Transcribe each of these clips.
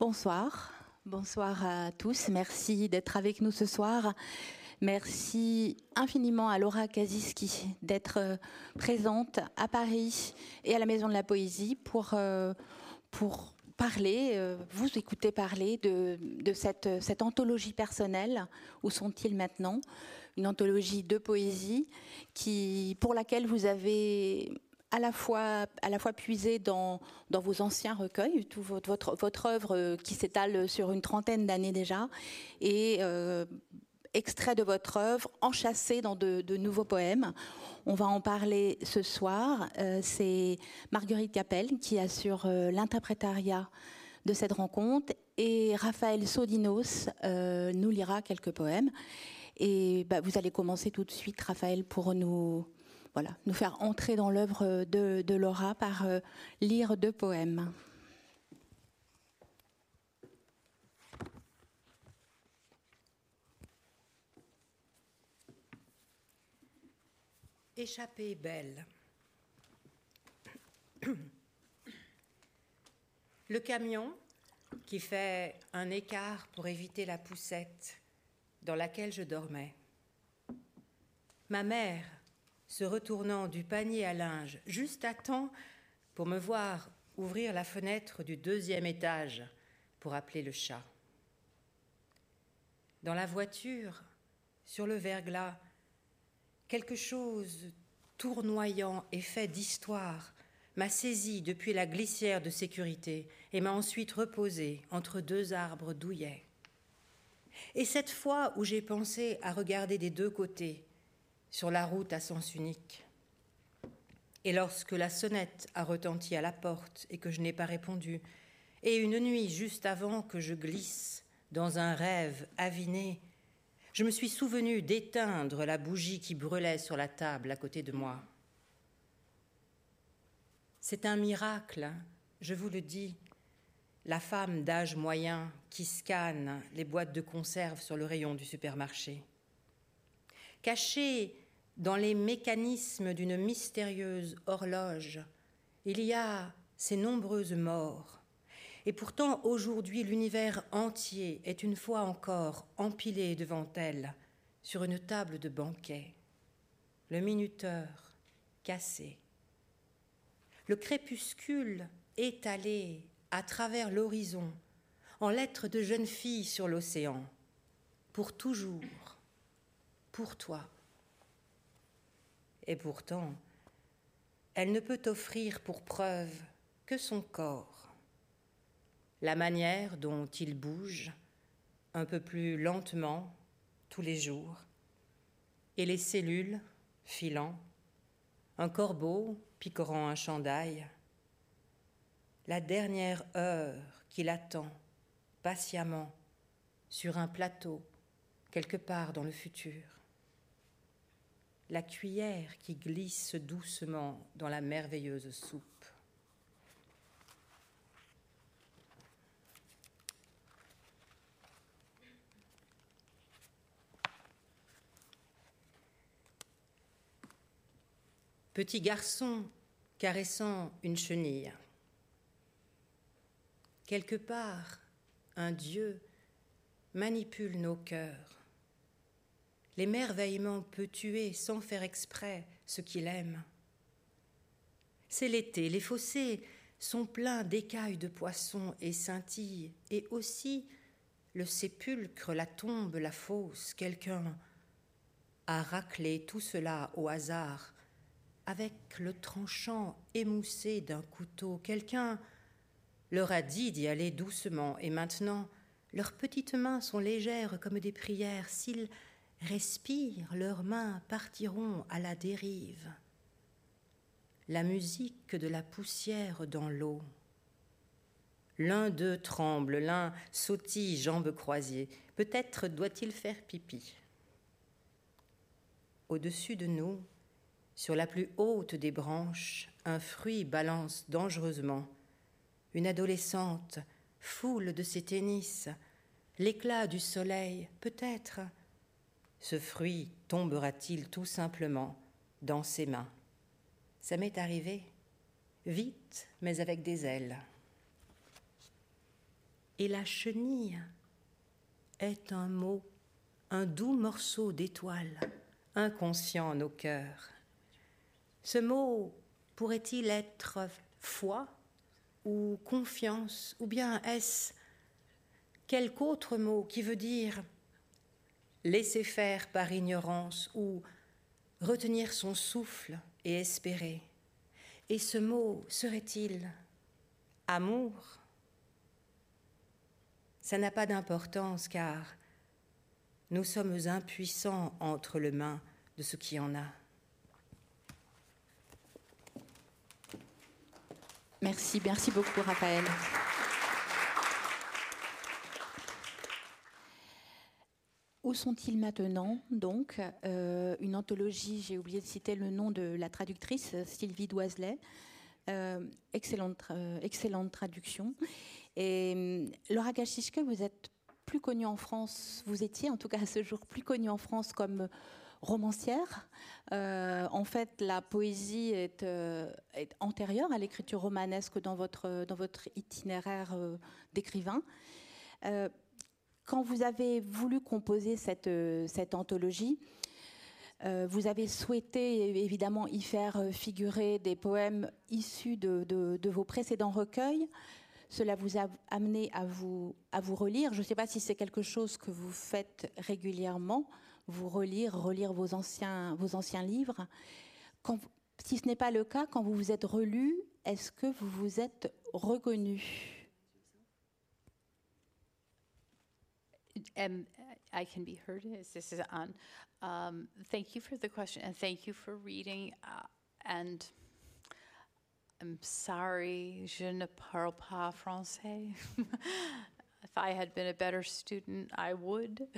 Bonsoir. Bonsoir à tous. Merci d'être avec nous ce soir. Merci infiniment à Laura Kasiski d'être présente à Paris et à la Maison de la Poésie pour parler, vous écouter parler de cette anthologie personnelle. Où sont-ils maintenant? Une anthologie de poésie pour laquelle vous avez à la fois puisé dans vos anciens recueils, toute votre œuvre qui s'étale sur une trentaine d'années déjà, et extrait de votre œuvre, enchâssé dans de nouveaux poèmes. On va en parler ce soir. C'est Marguerite Capelle qui assure l'interprétariat de cette rencontre, et Raphaël Sodinos nous lira quelques poèmes. Et vous allez commencer tout de suite, Raphaël, pour nous faire entrer dans l'œuvre de Laura par lire 2 poèmes. Échappée belle. Le camion qui fait un écart pour éviter la poussette dans laquelle je dormais. Ma mère, se retournant du panier à linge juste à temps pour me voir ouvrir la fenêtre du 2e étage pour appeler le chat. Dans la voiture, sur le verglas, quelque chose tournoyant et fait d'histoire m'a saisi depuis la glissière de sécurité et m'a ensuite reposé entre 2 arbres douillets. Et cette fois où j'ai pensé à regarder des 2 côtés, sur la route à sens unique, et lorsque la sonnette a retenti à la porte et que je n'ai pas répondu, et une nuit juste avant que je glisse dans un rêve aviné, je me suis souvenu d'éteindre la bougie qui brûlait sur la table à côté de moi. C'est un miracle, je vous le dis, la femme d'âge moyen qui scanne les boîtes de conserve sur le rayon du supermarché. Cachée dans les mécanismes d'une mystérieuse horloge, il y a ces nombreuses morts. Et pourtant, aujourd'hui, l'univers entier est une fois encore empilé devant elle sur une table de banquet. Le minuteur cassé. Le crépuscule étalé à travers l'horizon en lettres de jeune fille sur l'océan. Pour toujours. Pour toi. Et pourtant, elle ne peut offrir pour preuve que son corps. La manière dont il bouge, un peu plus lentement, tous les jours, et les cellules filant, un corbeau picorant un chandail, la dernière heure qu'il attend patiemment sur un plateau quelque part dans le futur, la cuillère qui glisse doucement dans la merveilleuse soupe. Petit garçon caressant une chenille. Quelque part, un Dieu manipule nos cœurs. L'émerveillement peut tuer sans faire exprès ce qu'il aime. C'est l'été, les fossés sont pleins d'écailles de poissons et scintillent, et aussi le sépulcre, la tombe, la fosse. Quelqu'un a raclé tout cela au hasard, avec le tranchant émoussé d'un couteau. Quelqu'un leur a dit d'y aller doucement, et maintenant, leurs petites mains sont légères comme des prières. S'ils respirent, leurs mains partiront à la dérive. La musique de la poussière dans l'eau. L'un d'eux tremble, l'un sautille, jambes croisées. Peut-être doit-il faire pipi. Au-dessus de nous, sur la plus haute des branches, un fruit balance dangereusement. Une adolescente foule de ses tennis, l'éclat du soleil, peut-être. Ce fruit tombera-t-il tout simplement dans ses mains? Ça m'est arrivé, vite, mais avec des ailes. Et la chenille est un mot, un doux morceau d'étoile, inconscient en nos cœurs. Ce mot pourrait-il être foi ou confiance, ou bien est-ce quelque autre mot qui veut dire laisser faire par ignorance ou retenir son souffle et espérer? Et ce mot serait-il amour? Ça n'a pas d'importance car nous sommes impuissants entre les mains de ce qui en a. Merci beaucoup Raphaël. Où sont-ils maintenant, donc une anthologie, j'ai oublié de citer le nom de la traductrice, Sylvie Doiselet. Excellente traduction. Et Laura Gašiške, vous êtes plus connue en France, vous étiez en tout cas à ce jour plus connue en France comme romancière. En fait, la poésie est antérieure à l'écriture romanesque dans votre itinéraire d'écrivain. Quand vous avez voulu composer cette anthologie, vous avez souhaité évidemment y faire figurer des poèmes issus de vos précédents recueils. Cela vous a amené à vous relire. Je ne sais pas si c'est quelque chose que vous faites régulièrement, vous relire vos anciens livres. Si ce n'est pas le cas, quand vous vous êtes relu, est-ce que vous vous êtes reconnu? I can be heard. This is on. Thank you for the question, and thank you for reading. And I'm sorry, je ne parle pas français. If I had been a better student, I would.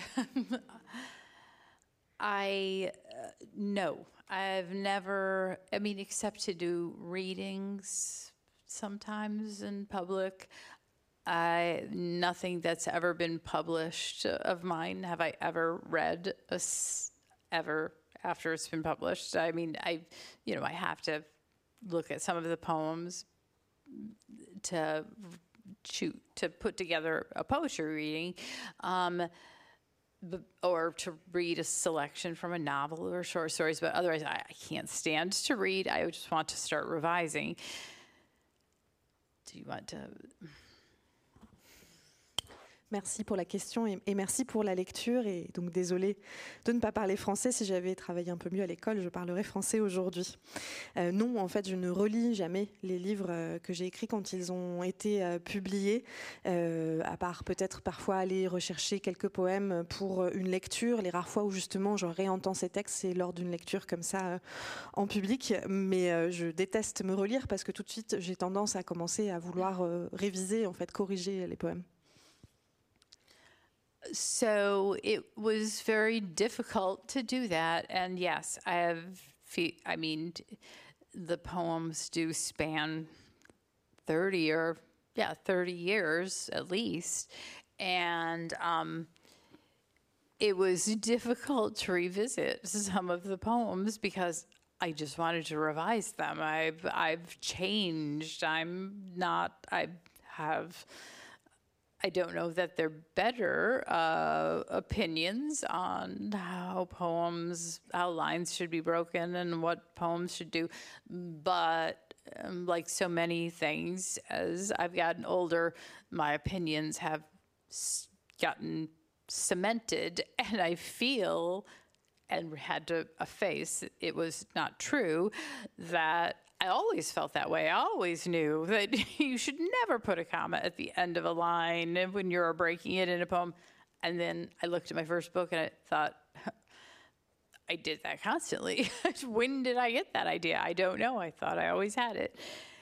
No, I've never, except to do readings sometimes in public. Nothing that's ever been published of mine have I ever read ever after it's been published. I have to look at some of the poems to put together a poetry reading, or to read a selection from a novel or short stories. But otherwise, I can't stand to read. I just want to start revising. Do you want to? Merci pour la question et merci pour la lecture. Et donc désolée de ne pas parler français. Si j'avais travaillé un peu mieux à l'école, je parlerais français aujourd'hui. Non, en fait, je ne relis jamais les livres que j'ai écrits quand ils ont été publiés, à part peut-être parfois aller rechercher quelques poèmes pour une lecture. Les rares fois où justement je réentends ces textes, c'est lors d'une lecture comme ça en public. Mais je déteste me relire parce que tout de suite, j'ai tendance à commencer à vouloir réviser, en fait, corriger les poèmes. So it was very difficult to do that. And yes, the poems do span 30 years at least. And it was difficult to revisit some of the poems because I just wanted to revise them. I've changed. I don't know that they're better opinions on how lines should be broken and what poems should do. But like so many things, as I've gotten older, my opinions have gotten cemented, and I feel, and had to face, it was not true, that I always felt that way. I always knew that you should never put a comma at the end of a line when you're breaking it in a poem. And then I looked at my first book and I thought, I did that constantly. When did I get that idea? I don't know. I thought I always had it.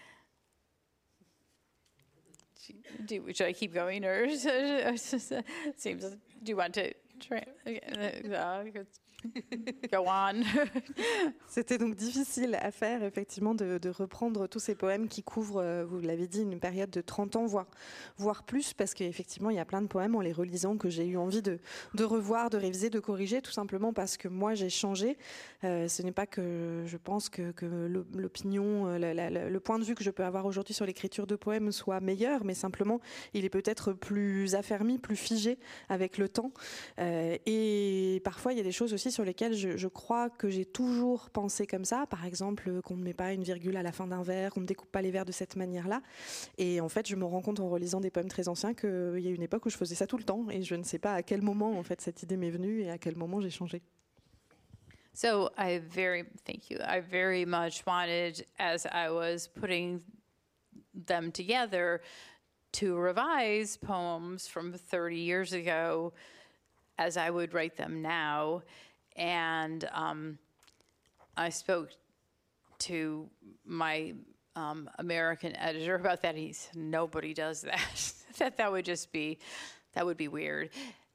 Should I keep going, or seems? Do you want to try? Go on. C'était donc difficile à faire, effectivement, de reprendre tous ces poèmes qui couvrent, vous l'avez dit, une période de 30 ans, voire plus, parce qu'effectivement, il y a plein de poèmes, en les relisant, que j'ai eu envie de revoir, de réviser, de corriger, tout simplement parce que moi, j'ai changé. Ce n'est pas que je pense que l'opinion, le point de vue que je peux avoir aujourd'hui sur l'écriture de poèmes soit meilleur, mais simplement, il est peut-être plus affermi, plus figé avec le temps. Et parfois, il y a des choses aussi sur lesquelles je crois que j'ai toujours pensé comme ça. Par exemple, qu'on ne met pas une virgule à la fin d'un vers, qu'on ne découpe pas les vers de cette manière-là. Et en fait, je me rends compte en relisant des poèmes très anciens qu'il y a une époque où je faisais ça tout le temps. Et je ne sais pas à quel moment, en fait, cette idée m'est venue et à quel moment j'ai changé. So thank you. I very much wanted, as I was putting them together, to revise poems from 30 years ago as I would write them now. And I spoke to my American editor about that. He said, nobody does that. that would be weird.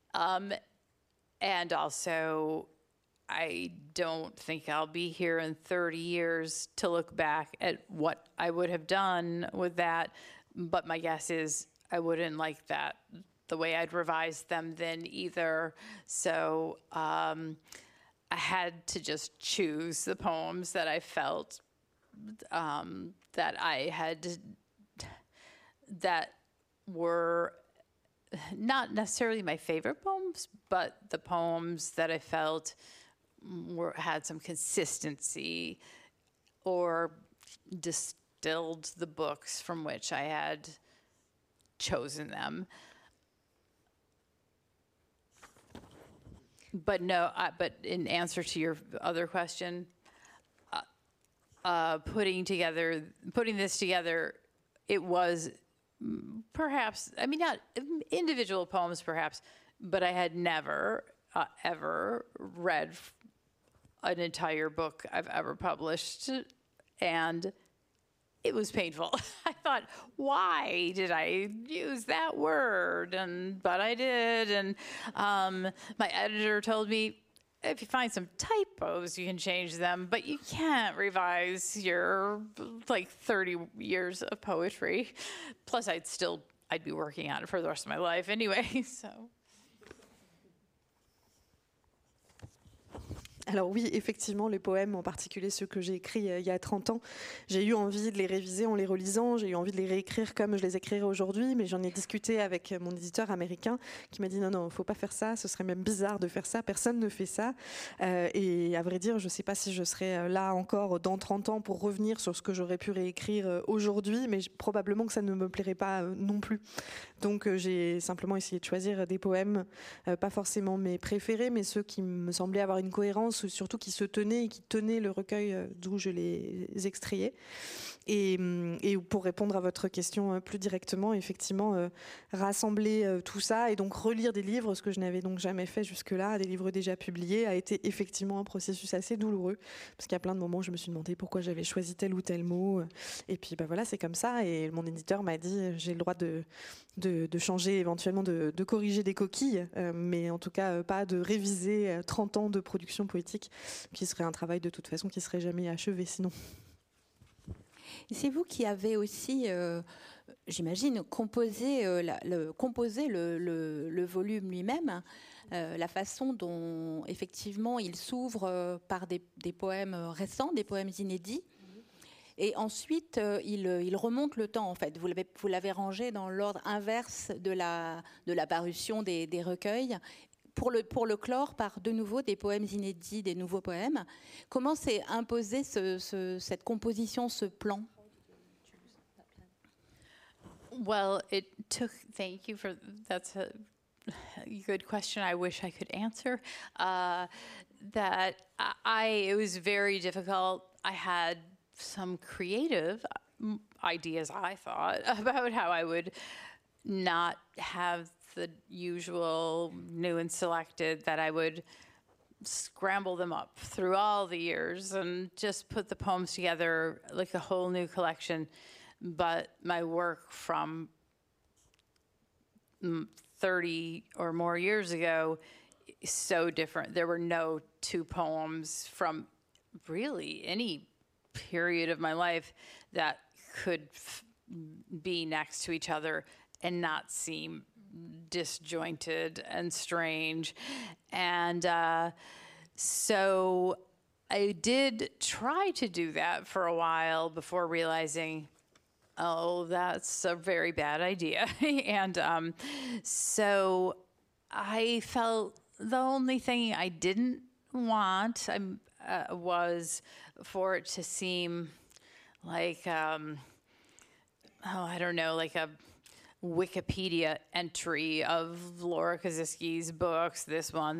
And also, I don't think I'll be here in 30 years to look back at what I would have done with that. But my guess is I wouldn't like that the way I'd revised them then either. So I had to just choose the poems that I felt that were not necessarily my favorite poems, but the poems that I felt had some consistency or distilled the books from which I had chosen them. But no, but in answer to your other question, putting this together, it was perhaps, I mean, not individual poems perhaps, but I had never ever read an entire book I've ever published, and it was painful. I thought, why did I use that word? But I did, and my editor told me, if you find some typos, you can change them, but you can't revise your 30 years of poetry. Plus, I'd be working on it for the rest of my life anyway, so. Alors oui, effectivement, les poèmes, en particulier ceux que j'ai écrits il y a 30 ans, j'ai eu envie de les réviser en les relisant, j'ai eu envie de les réécrire comme je les écrirais aujourd'hui, mais j'en ai discuté avec mon éditeur américain qui m'a dit non, faut pas faire ça, ce serait même bizarre de faire ça, personne ne fait ça. Et à vrai dire, je sais pas si je serai là encore dans 30 ans pour revenir sur ce que j'aurais pu réécrire aujourd'hui, mais probablement que ça ne me plairait pas non plus. Donc j'ai simplement essayé de choisir des poèmes, pas forcément mes préférés, mais ceux qui me semblaient avoir une cohérence, surtout qui se tenaient et qui tenaient le recueil d'où je les extrayais. Et pour répondre à votre question plus directement, effectivement, rassembler tout ça et donc relire des livres, ce que je n'avais donc jamais fait jusque-là, des livres déjà publiés, a été effectivement un processus assez douloureux, parce qu'il y a plein de moments où je me suis demandé pourquoi j'avais choisi tel ou tel mot. Et puis voilà, c'est comme ça. Et mon éditeur m'a dit, j'ai le droit de changer, éventuellement de corriger des coquilles, mais en tout cas pas de réviser 30 ans de production poétique, qui serait un travail de toute façon qui serait jamais achevé sinon. C'est vous qui avez aussi, j'imagine, composé le volume lui-même, la façon dont effectivement il s'ouvre par des poèmes récents, des poèmes inédits. Et ensuite, il remonte le temps, en fait. Vous l'avez rangé dans l'ordre inverse de la parution des recueils, pour le clore par de nouveau des poèmes inédits, des nouveaux poèmes. Comment s'est imposé cette composition, ce plan? Well, thank you that's a good question I wish I could answer. It was very difficult. I had some creative ideas, I thought, about how I would not have the usual new and selected, that I would scramble them up through all the years and just put the poems together like a whole new collection. But my work from 30 or more years ago so different. There were no two poems from really any period of my life that could be next to each other and not seem disjointed and strange. And so I did try to do that for a while before realizing, oh, that's a very bad idea. And so I felt the only thing I didn't want was for it to seem like, I don't know, like a Wikipedia entry of Laura Kosicki's books, this one.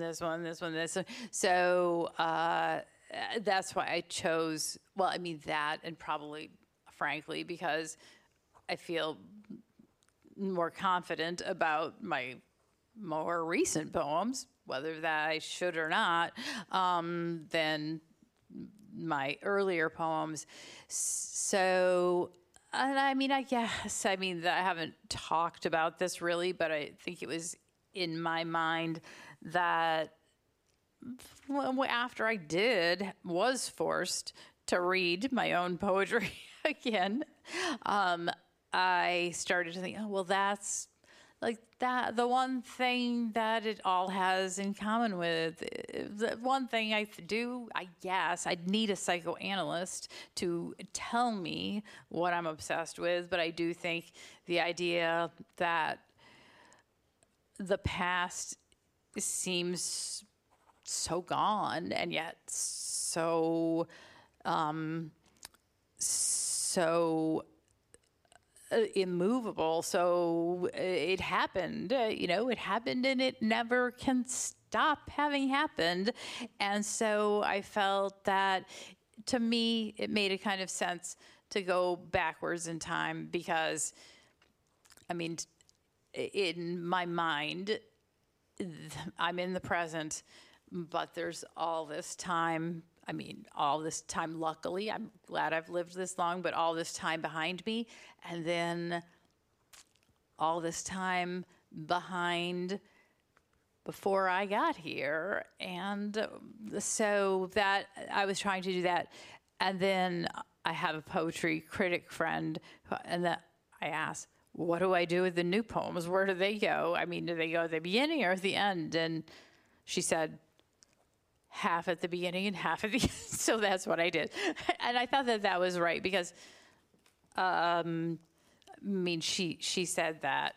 So that's why I chose, that, and probably, frankly, because I feel more confident about my more recent poems, whether that I should or not, than my earlier poems. So, and I guess, I haven't talked about this really, but I think it was in my mind that after I was forced to read my own poetry again, I started to think, that's like that, the one thing that it all has in common with, the one thing I guess, I'd need a psychoanalyst to tell me what I'm obsessed with, but I do think the idea that the past seems so gone and yet so immovable. So it happened, it happened and it never can stop having happened. And so I felt that, to me, it made a kind of sense to go backwards in time because, in my mind, I'm in the present, but there's all this time. Luckily, I'm glad I've lived this long, but all this time behind me, and then all this time behind before I got here. And so that I was trying to do that. And then I have a poetry critic friend, and that I asked, what do I do with the new poems? Where do they go? Do they go at the beginning or at the end? And she said, half at the beginning and half at the end. So that's what I did. And I thought that was right because, she said that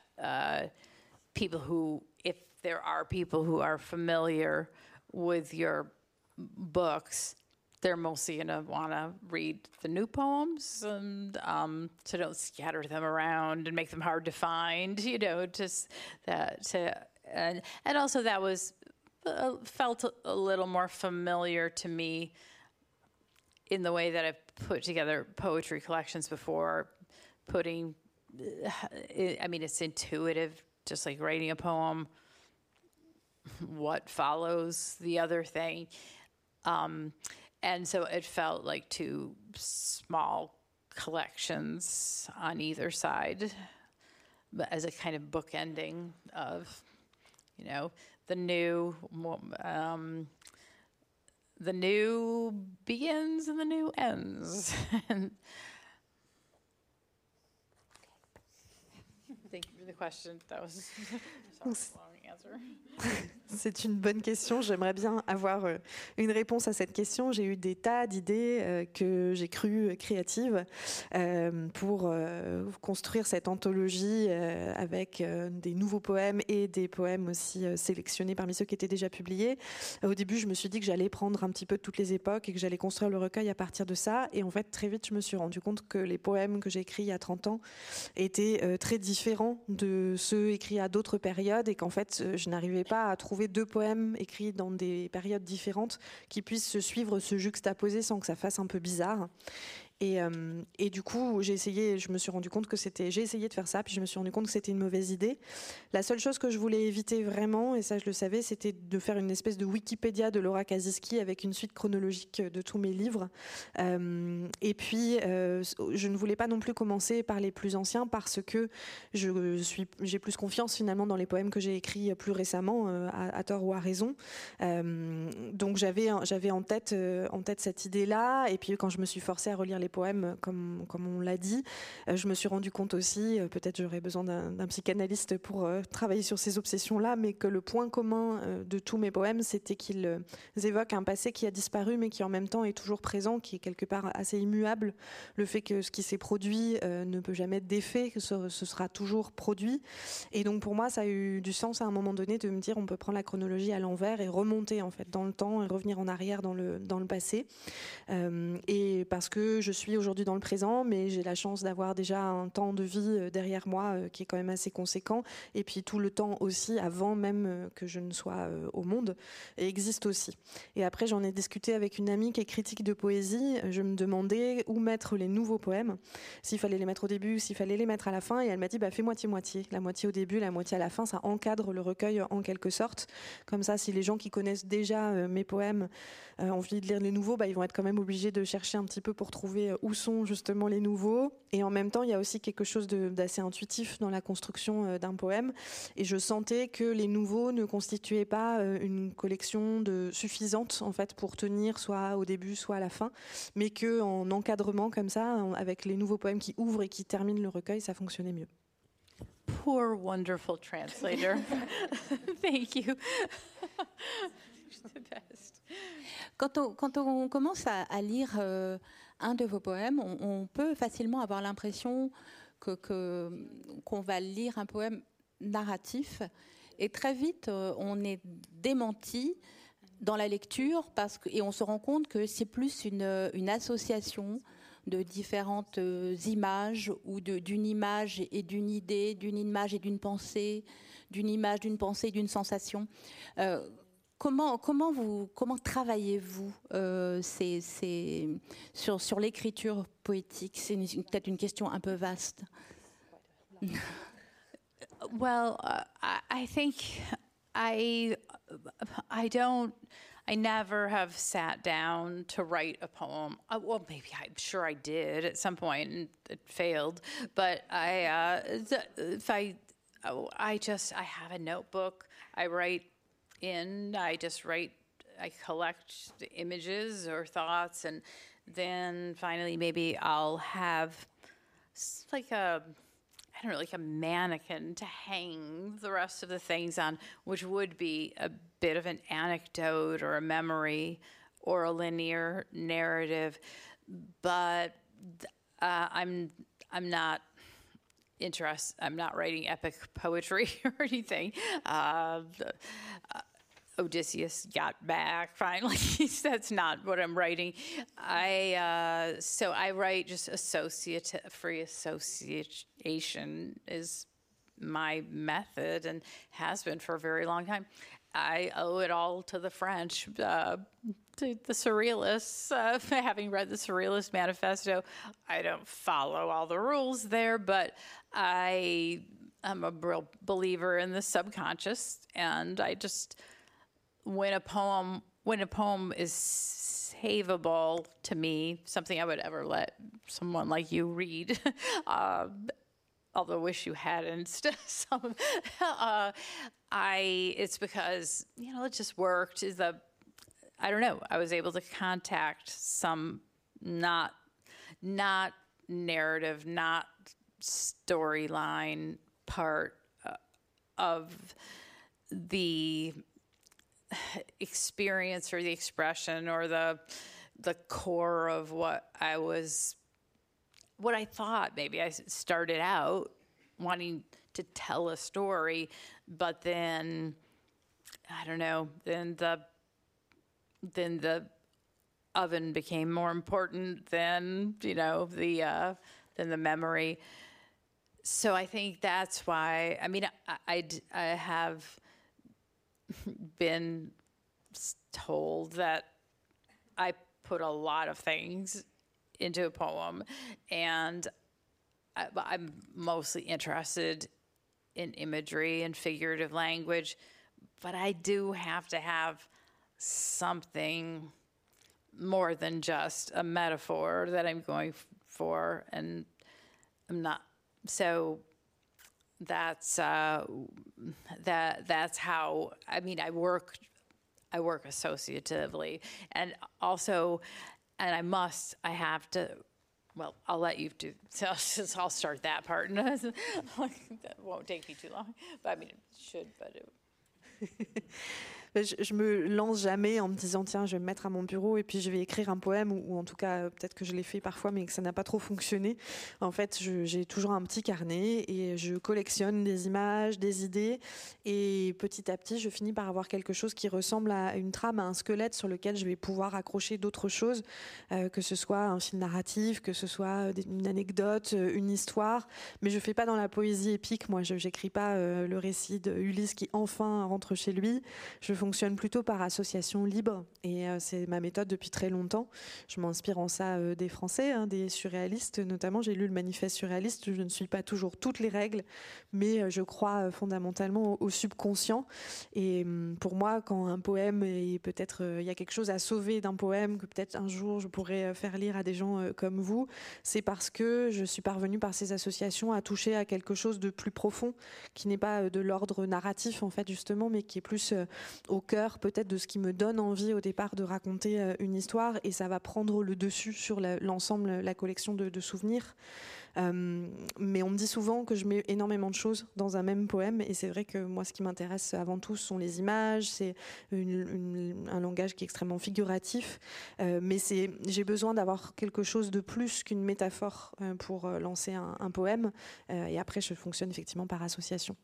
if there are people who are familiar with your books, they're mostly going to want to read the new poems, and so don't scatter them around and make them hard to find, just that. And also that was, felt a little more familiar to me in the way that I've put together poetry collections before. It's intuitive, just like writing a poem. What follows the other thing? And so it felt like two small collections on either side, but as a kind of bookending of, the new begins and the new ends. Thank you for the question. That was a long answer. C'est une bonne question. J'aimerais bien avoir une réponse à cette question. J'ai eu des tas d'idées que j'ai crues créatives pour construire cette anthologie avec des nouveaux poèmes et des poèmes aussi sélectionnés parmi ceux qui étaient déjà publiés. Au début, je me suis dit que j'allais prendre un petit peu de toutes les époques et que j'allais construire le recueil à partir de ça. Et en fait, très vite, je me suis rendu compte que les poèmes que j'ai écrits il y a 30 ans étaient très différents de ceux écrits à d'autres périodes et qu'en fait, je n'arrivais pas à trouver deux poèmes écrits dans des périodes différentes qui puissent se suivre, se juxtaposer sans que ça fasse un peu bizarre. Et du coup, j'ai essayé de faire ça, puis je me suis rendu compte que c'était une mauvaise idée. La seule chose que je voulais éviter vraiment, et ça je le savais, c'était de faire une espèce de Wikipédia de Laura Kaziski avec une suite chronologique de tous mes livres. Et puis, je ne voulais pas non plus commencer par les plus anciens parce que j'ai plus confiance finalement dans les poèmes que j'ai écrits plus récemment, à tort ou à raison. Donc j'avais en tête cette idée-là, et puis quand je me suis forcée à relire les poèmes, comme on l'a dit, je me suis rendu compte aussi, peut-être j'aurais besoin d'un psychanalyste pour travailler sur ces obsessions-là, mais que le point commun de tous mes poèmes, c'était qu'ils évoquent un passé qui a disparu, mais qui en même temps est toujours présent, qui est quelque part assez immuable. Le fait que ce qui s'est produit ne peut jamais être défait, que ce sera toujours produit. Et donc pour moi, ça a eu du sens à un moment donné de me dire on peut prendre la chronologie à l'envers et remonter en fait dans le temps et revenir en arrière dans le passé. Et parce que je suis aujourd'hui dans le présent, mais j'ai la chance d'avoir déjà un temps de vie derrière moi qui est quand même assez conséquent, et puis tout le temps aussi avant même que je ne sois au monde existe aussi. Et après j'en ai discuté avec une amie qui est critique de poésie. Je me demandais où mettre les nouveaux poèmes, s'il fallait les mettre au début, s'il fallait les mettre à la fin, et elle m'a dit fais moitié-moitié, la moitié au début, la moitié à la fin, ça encadre le recueil en quelque sorte. Comme ça, si les gens qui connaissent déjà mes poèmes ont envie de lire les nouveaux, ils vont être quand même obligés de chercher un petit peu pour trouver où sont justement les nouveaux. Et en même temps, il y a aussi quelque chose d'assez intuitif dans la construction d'un poème. Et je sentais que les nouveaux ne constituaient pas une collection suffisante en fait pour tenir soit au début, soit à la fin, mais qu'en encadrement comme ça, avec les nouveaux poèmes qui ouvrent et qui terminent le recueil, ça fonctionnait mieux. Poor, wonderful translator. Thank you. The best. Quand on commence à lire un de vos poèmes, on peut facilement avoir l'impression qu'on va lire un poème narratif, et très vite on est démenti dans la lecture et on se rend compte que c'est plus une association de différentes images, ou d'une image et d'une idée, d'une image et d'une pensée, d'une image, d'une pensée, d'une sensation. Comment travaillez-vous sur l'écriture poétique? C'est peut-être une question un peu vaste. Well, I think I never have sat down to write a poem. Well, maybe I'm sure I did at some point and it failed. But I have a notebook. I collect the images or thoughts, and then finally maybe I'll have like a mannequin to hang the rest of the things on, which would be a bit of an anecdote or a memory or a linear narrative. But I'm not interested. I'm not writing epic poetry or anything. Odysseus got back finally. That's not what I'm writing. So I write just free association is my method and has been for a very long time. I owe it all to the French, to the Surrealists. Having read the Surrealist Manifesto, I don't follow all the rules there, but I'm a real believer in the subconscious, and I just... When a poem is savable to me, something I would ever let someone like you read, although I wish you hadn't. It's because it just worked. I don't know. I was able to contact some not narrative, not storyline part of the experience or the expression or the core of what I thought. Maybe I started out wanting to tell a story, but then I don't know, then the oven became more important than the memory. So I think that's why, I have been told that I put a lot of things into a poem, and I'm mostly interested in imagery and figurative language, but I do have to have something more than just a metaphor that I'm going for, and I'm not. So that's that's how, I mean, I work associatively, and also, and I have to. Well, I'll let you do. So I'll start that part, and that won't take me too long. But I mean, it should. But it... Je me lance jamais en me disant tiens, je vais me mettre à mon bureau et puis je vais écrire un poème, ou en tout cas peut-être que je l'ai fait parfois mais que ça n'a pas trop fonctionné. En fait, j'ai toujours un petit carnet et je collectionne des images, des idées, et petit à petit je finis par avoir quelque chose qui ressemble à une trame, à un squelette sur lequel je vais pouvoir accrocher d'autres choses, que ce soit un fil narratif, que ce soit une anecdote, une histoire. Mais je fais pas dans la poésie épique, moi je n'écris pas le récit d'Ulysse qui enfin rentre chez lui. Je fonctionne plutôt par association libre, et c'est ma méthode depuis très longtemps. Je m'inspire en ça des Français, hein, des surréalistes notamment. J'ai lu le manifeste surréaliste, je ne suis pas toujours toutes les règles, mais je crois fondamentalement au subconscient. Et pour moi, quand un poème, et peut-être il y a quelque chose à sauver d'un poème que peut-être un jour je pourrais faire lire à des gens comme vous, c'est parce que je suis parvenue par ces associations à toucher à quelque chose de plus profond, qui n'est pas de l'ordre narratif en fait justement, mais qui est plus au cœur peut-être de ce qui me donne envie au départ de raconter une histoire, et ça va prendre le dessus sur l'ensemble, la collection de souvenirs. Mais on me dit souvent que je mets énormément de choses dans un même poème, et c'est vrai que moi ce qui m'intéresse avant tout sont les images, c'est un langage qui est extrêmement figuratif, mais j'ai besoin d'avoir quelque chose de plus qu'une métaphore pour lancer un poème, et après je fonctionne effectivement par association.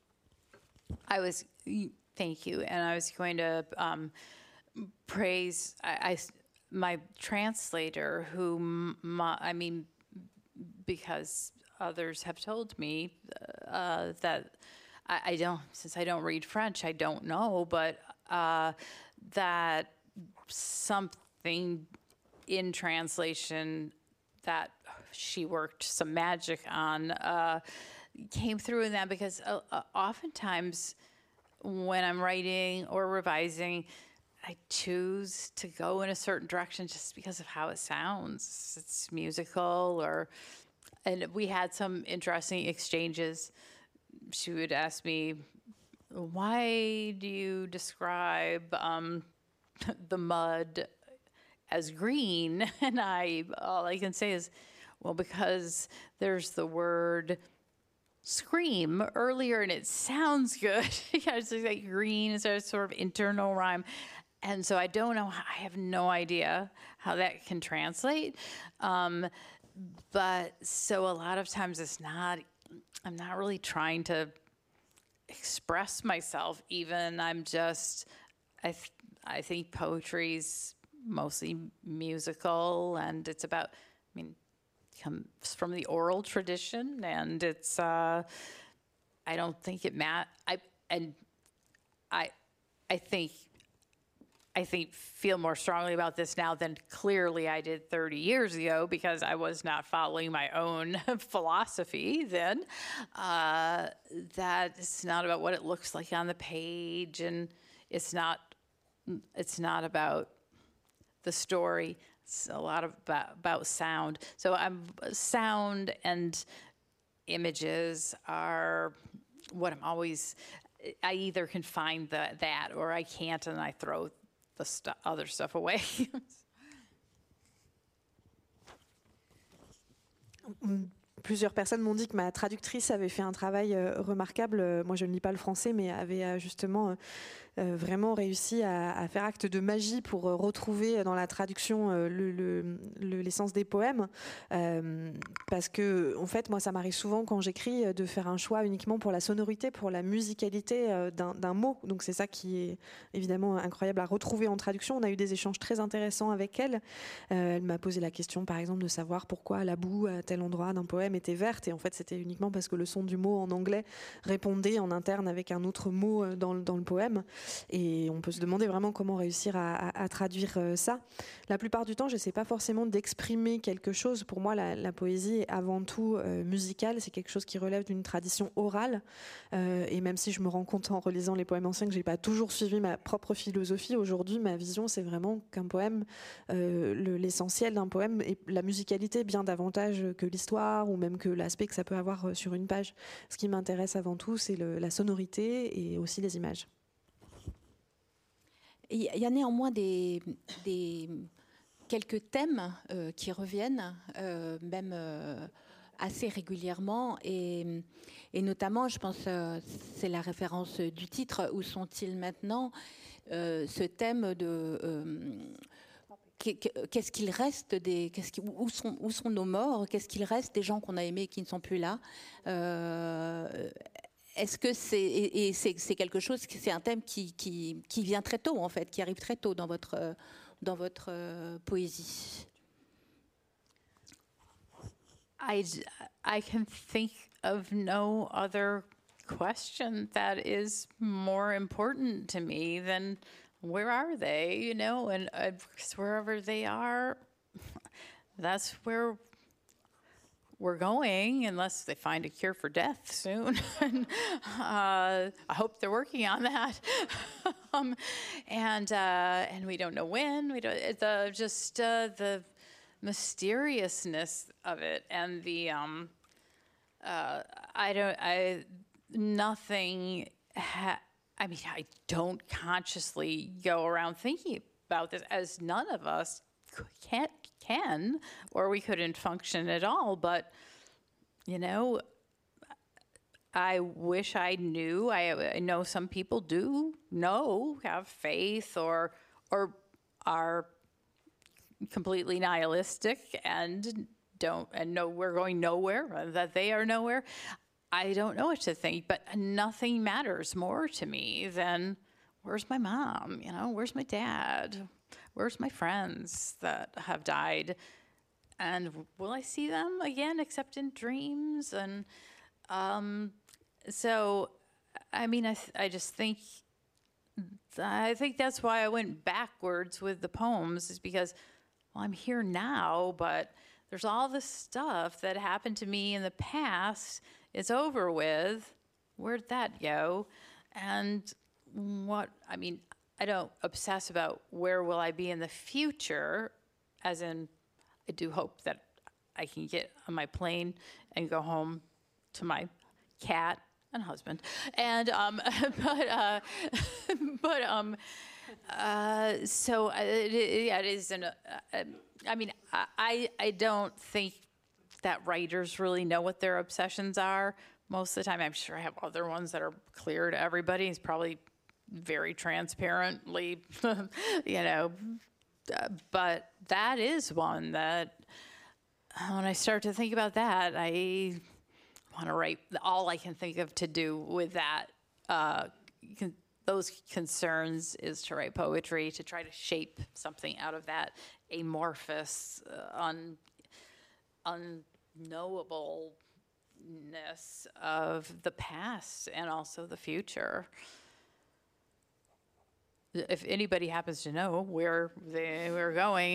Thank you. And I was going to praise my translator, I mean, because others have told me that I don't, since I don't read French, I don't know, but that something in translation that she worked some magic on came through in that, because oftentimes when I'm writing or revising, I choose to go in a certain direction just because of how it sounds. It's musical, and we had some interesting exchanges. She would ask me, why do you describe the mud as green? And all I can say is, well, because there's the word scream earlier and it sounds good. It's like green is a sort of internal rhyme. And so I don't know, I have no idea how that can translate. But so a lot of times I'm not really trying to express myself even. I'm just, I think poetry's mostly musical, and it's about, comes from the oral tradition, and it's I don't think it I think feel more strongly about this now than clearly I did 30 years ago, because I was not following my own philosophy then. That it's not about what it looks like on the page, and it's not about the story. It's a lot about sound. So sound and images are what I'm always, I either can find that or I can't, and I throw the other stuff away. Plusieurs personnes m'ont dit que ma traductrice avait fait un travail remarquable. Moi, je ne lis pas le français, mais avait justement vraiment réussi à faire acte de magie pour retrouver dans la traduction l'essence des poèmes. Parce que, en fait, moi, ça m'arrive souvent quand j'écris de faire un choix uniquement pour la sonorité, pour la musicalité d'un mot. Donc c'est ça qui est évidemment incroyable à retrouver en traduction. On a eu des échanges très intéressants avec elle. Elle m'a posé la question, par exemple, de savoir pourquoi la boue à tel endroit d'un poème poème était verte, et en fait c'était uniquement parce que le son du mot en anglais répondait en interne avec un autre mot dans le poème. Et on peut se demander vraiment comment réussir à traduire ça. La plupart du temps, je n'essaie pas forcément d'exprimer quelque chose. Pour moi, la poésie est avant tout musicale. C'est quelque chose qui relève d'une tradition orale. Et même si je me rends compte en relisant les poèmes anciens que je n'ai pas toujours suivi ma propre philosophie, aujourd'hui, ma vision, c'est vraiment qu'un poème, l'essentiel d'un poème est la musicalité bien davantage que l'histoire ou même que l'aspect que ça peut avoir sur une page. Ce qui m'intéresse avant tout, c'est la sonorité et aussi les images. Il y a néanmoins quelques thèmes qui reviennent, même assez régulièrement, et notamment, je pense, c'est la référence du titre, où sont-ils maintenant, ce thème de qu'est-ce qu'il reste où sont nos morts, qu'est-ce qu'il reste des gens qu'on a aimés et qui ne sont plus là. Est-ce que c'est quelque chose, c'est un thème qui vient très tôt, en fait, qui arrive très tôt dans votre poésie? I can think of no other question that is more important to me than where are they, you know, and wherever they are, that's where we're going, unless they find a cure for death soon. I hope they're working on that. And we don't know when. We don't. It's the mysteriousness of it, and the nothing. I mean, I don't consciously go around thinking about this, as none of us can, or we couldn't function at all. But, you know, I wish I knew. I know some people do know, have faith, or are completely nihilistic and know we're going nowhere, that they are nowhere. I don't know what to think, but nothing matters more to me than where's my mom, you know, where's my dad, where's my friends that have died, and will I see them again except in dreams? And so, I mean, I just think, I think that's why I went backwards with the poems, is because, well, I'm here now, but there's all this stuff that happened to me in the past. It's over with. Where'd that go? And I mean, I don't obsess about where will I be in the future, as in, I do hope that I can get on my plane and go home to my cat and husband. And, so it is I mean, I don't think that writers really know what their obsessions are most of the time. I'm sure I have other ones that are clear to everybody. It's probably very transparently, you know, but that is one that when I start to think about that, I want to write. All I can think of to do with that, those concerns, is to write poetry, to try to shape something out of that amorphous, unknowableness of the past and also the future. If anybody happens to know where they were going,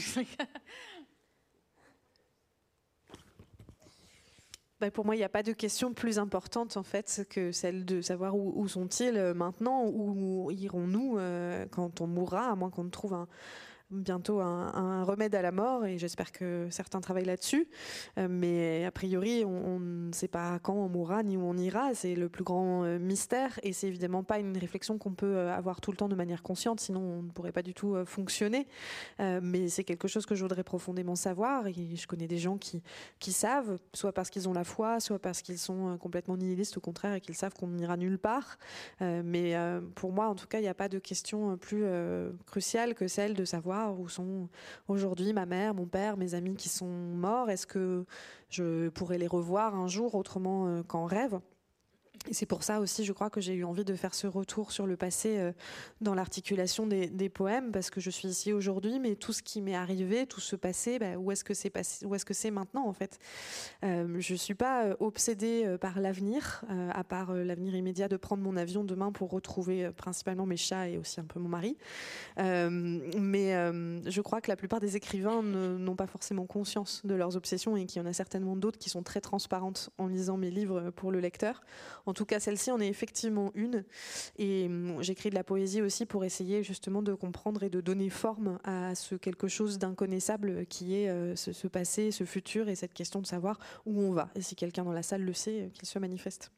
Pour moi, il n'y a pas de question plus importante en fait que celle de savoir où sont-ils maintenant, où irons-nous quand on mourra, à moins qu'on ne trouve bientôt un remède à la mort, et j'espère que certains travaillent là-dessus, mais a priori on ne sait pas quand on mourra ni où on ira. C'est le plus grand mystère, et c'est évidemment pas une réflexion qu'on peut avoir tout le temps de manière consciente, sinon on ne pourrait pas du tout fonctionner, mais c'est quelque chose que je voudrais profondément savoir, et je connais des gens qui savent, soit parce qu'ils ont la foi, soit parce qu'ils sont complètement nihilistes au contraire et qu'ils savent qu'on n'ira nulle part, mais pour moi en tout cas il n'y a pas de question plus cruciale que celle de savoir où sont aujourd'hui ma mère, mon père, mes amis qui sont morts. Est-ce que je pourrais les revoir un jour autrement qu'en rêve? Et c'est pour ça aussi, je crois, que j'ai eu envie de faire ce retour sur le passé dans l'articulation des poèmes, parce que je suis ici aujourd'hui, mais tout ce qui m'est arrivé, tout ce passé, où est-ce que c'est passé, où est-ce que c'est maintenant, en fait. Je suis pas obsédée par l'avenir, à part l'avenir immédiat de prendre mon avion demain pour retrouver principalement mes chats et aussi un peu mon mari. Mais je crois que la plupart des écrivains n'ont pas forcément conscience de leurs obsessions et qu'il y en a certainement d'autres qui sont très transparentes en lisant mes livres pour le lecteur. En tout cas, celle-ci en est effectivement une. Et j'écris de la poésie aussi pour essayer justement de comprendre et de donner forme à ce quelque chose d'inconnaissable qui est ce passé, ce futur et cette question de savoir où on va. Et si quelqu'un dans la salle le sait, qu'il se manifeste.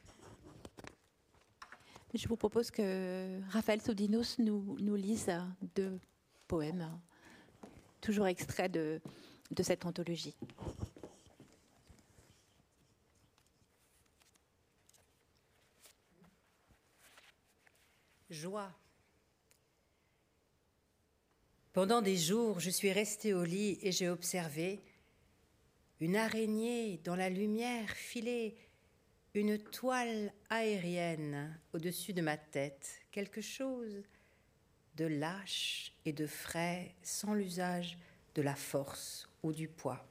Je vous propose que Raphaël Sodinos nous lise 2 poèmes, toujours extraits de cette anthologie. Joie. Pendant des jours, je suis restée au lit et j'ai observé une araignée dans la lumière filer une toile aérienne au-dessus de ma tête, quelque chose de lâche et de frais sans l'usage de la force ou du poids.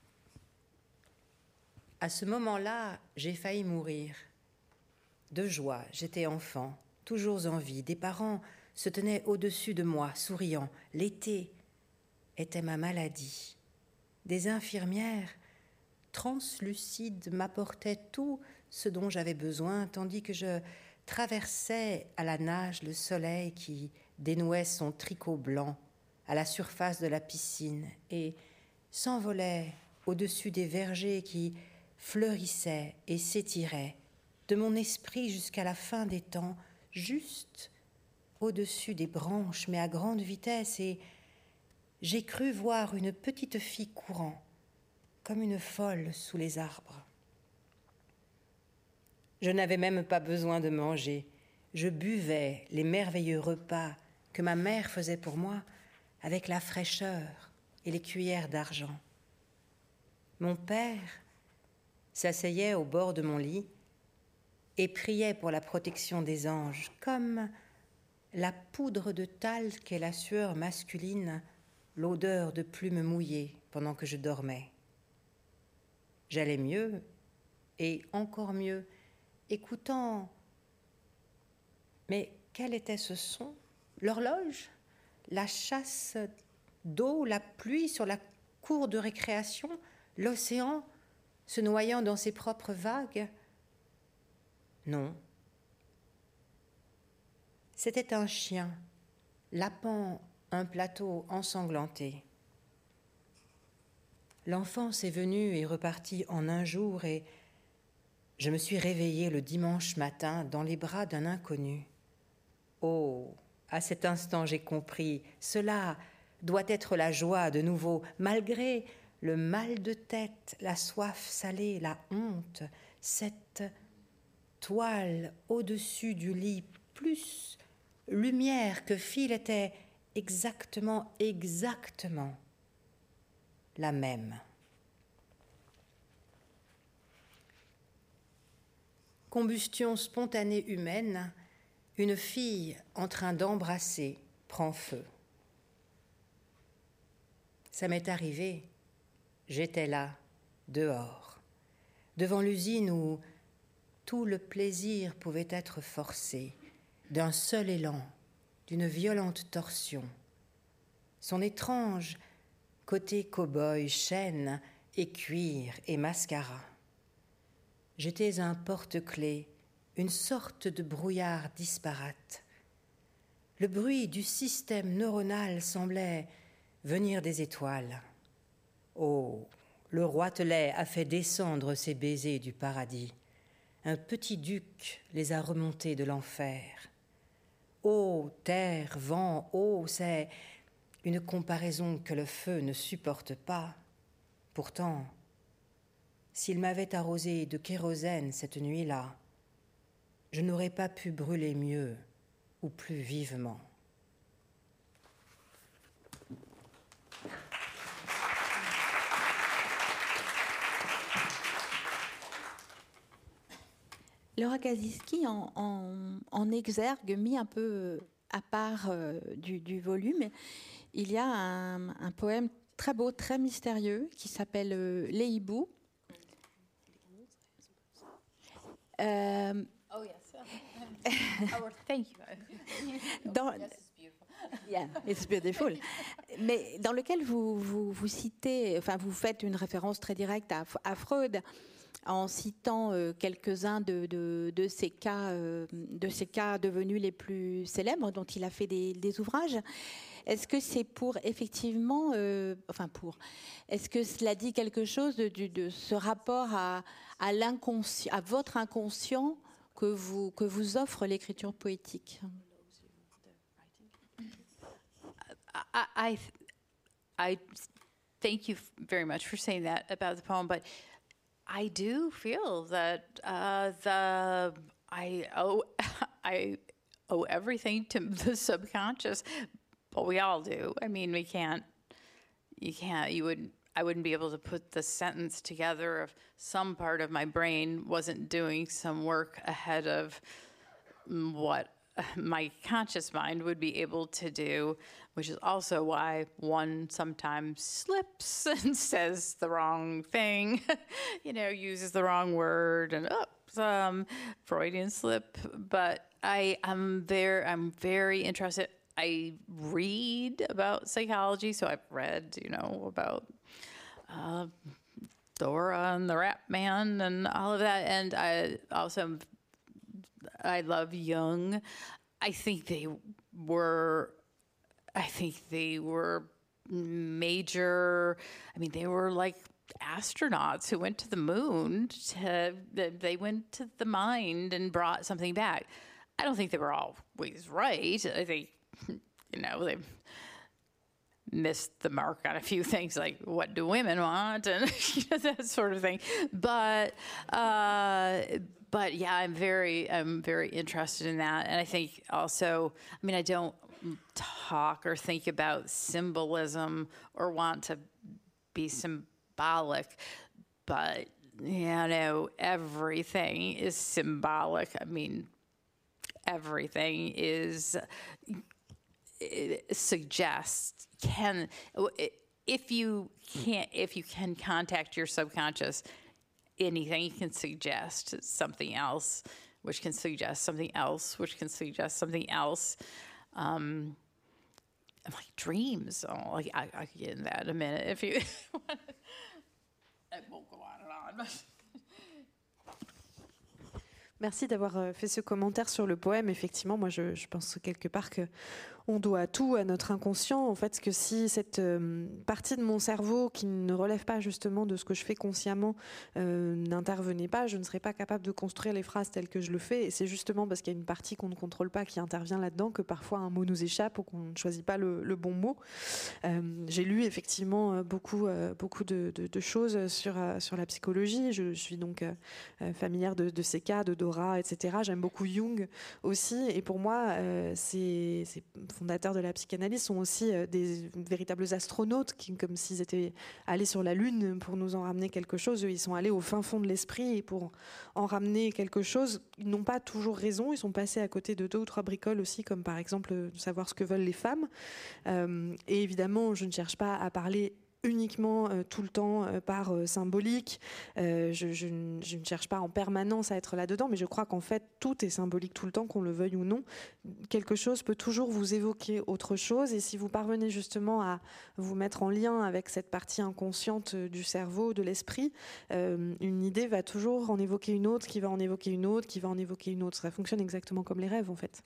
À ce moment-là, j'ai failli mourir. De joie, j'étais enfant, toujours en vie. Des parents se tenaient au-dessus de moi, souriant. L'été était ma maladie. Des infirmières translucides m'apportaient tout ce dont j'avais besoin, tandis que je traversais à la nage le soleil qui dénouait son tricot blanc à la surface de la piscine et s'envolait au-dessus des vergers qui fleurissaient et s'étiraient de mon esprit jusqu'à la fin des temps, juste au-dessus des branches, mais à grande vitesse, et j'ai cru voir une petite fille courant, comme une folle sous les arbres. Je n'avais même pas besoin de manger. Je buvais les merveilleux repas que ma mère faisait pour moi avec la fraîcheur et les cuillères d'argent. Mon père s'asseyait au bord de mon lit et priait pour la protection des anges, comme la poudre de talc et la sueur masculine, l'odeur de plumes mouillées pendant que je dormais. J'allais mieux, et encore mieux, écoutant. Mais quel était ce son? L'horloge? La chasse d'eau, la pluie sur la cour de récréation? L'océan se noyant dans ses propres vagues? Non. C'était un chien, lapant un plateau ensanglanté. L'enfance est venue et repartie en un jour et je me suis réveillée le dimanche matin dans les bras d'un inconnu. Oh, à cet instant j'ai compris, cela doit être la joie de nouveau, malgré le mal de tête, la soif salée, la honte, cette toile au-dessus du lit, plus lumière que fil était exactement la même. Combustion spontanée humaine, une fille en train d'embrasser prend feu. Ça m'est arrivé, j'étais là, dehors, devant l'usine où tout le plaisir pouvait être forcé, d'un seul élan, d'une violente torsion. Son étrange côté cow-boy, chaîne et cuir et mascara. J'étais un porte-clés, une sorte de brouillard disparate. Le bruit du système neuronal semblait venir des étoiles. Oh, le roitelet a fait descendre ses baisers du paradis. Un petit duc les a remontés de l'enfer. Eau, terre, vent, eau, c'est une comparaison que le feu ne supporte pas. Pourtant, s'il m'avait arrosé de kérosène cette nuit-là, je n'aurais pas pu brûler mieux ou plus vivement. Laura Kasiski, en exergue, mis un peu à part du volume, il y a un poème très beau, très mystérieux, qui s'appelle Les hiboux. Oh, yes. Oh, thank you. Yeah, it's beautiful. Mais dans lequel vous citez, enfin vous faites une référence très directe à Freud en citant quelques-uns de ces cas devenus les plus célèbres dont il a fait des ouvrages. Est-ce que c'est pour effectivement, est-ce que cela dit quelque chose de ce rapport à l'inconscient, à votre inconscient que vous offre l'écriture poétique? I thank you very much for saying that about the poem, but I do feel that I owe everything to the subconscious, but we all do. I mean, I wouldn't be able to put the sentence together if some part of my brain wasn't doing some work ahead of what my conscious mind would be able to do, which is also why one sometimes slips and says the wrong thing, uses the wrong word, and Freudian slip. But I'm very interested. I read about psychology, so I've read, about Dora and the Rat Man and all of that, and I love Jung. I think they were major. I mean, they were like astronauts who went to the moon. They went to the mind and brought something back. I don't think they were always right. I think, they missed the mark on a few things, like what do women want and that sort of thing. But yeah, I'm very interested in that. And I think also, I don't talk or think about symbolism or want to be symbolic, but everything is symbolic. I mean, everything suggests, if you can contact your subconscious, anything can suggest something else, which can suggest something else, which can suggest something else. Like dreams. I could get into that in a minute if you want. It won't go on and on. Merci d'avoir fait ce commentaire sur le poème. Effectivement, moi, je pense quelque part que on doit tout à notre inconscient. En fait, que si cette partie de mon cerveau qui ne relève pas justement de ce que je fais consciemment n'intervenait pas, je ne serais pas capable de construire les phrases telles que je le fais. Et c'est justement parce qu'il y a une partie qu'on ne contrôle pas qui intervient là-dedans que parfois un mot nous échappe ou qu'on ne choisit pas le bon mot. J'ai lu effectivement beaucoup de choses sur la psychologie. Je suis donc familière de ces cas, de Dora, etc. J'aime beaucoup Jung aussi. Et pour moi, ces fondateurs de la psychanalyse sont aussi des véritables astronautes qui, comme s'ils étaient allés sur la Lune pour nous en ramener quelque chose. Eux, ils sont allés au fin fond de l'esprit et pour en ramener quelque chose, ils n'ont pas toujours raison. Ils sont passés à côté de 2 ou 3 bricoles aussi, comme par exemple savoir ce que veulent les femmes. Et évidemment, je ne cherche pas à parler uniquement tout le temps par symbolique. Je ne cherche pas en permanence à être là-dedans, mais je crois qu'en fait, tout est symbolique tout le temps, qu'on le veuille ou non. Quelque chose peut toujours vous évoquer autre chose, et si vous parvenez justement à vous mettre en lien avec cette partie inconsciente du cerveau, de l'esprit, une idée va toujours en évoquer une autre, qui va en évoquer une autre, qui va en évoquer une autre. Ça fonctionne exactement comme les rêves, en fait.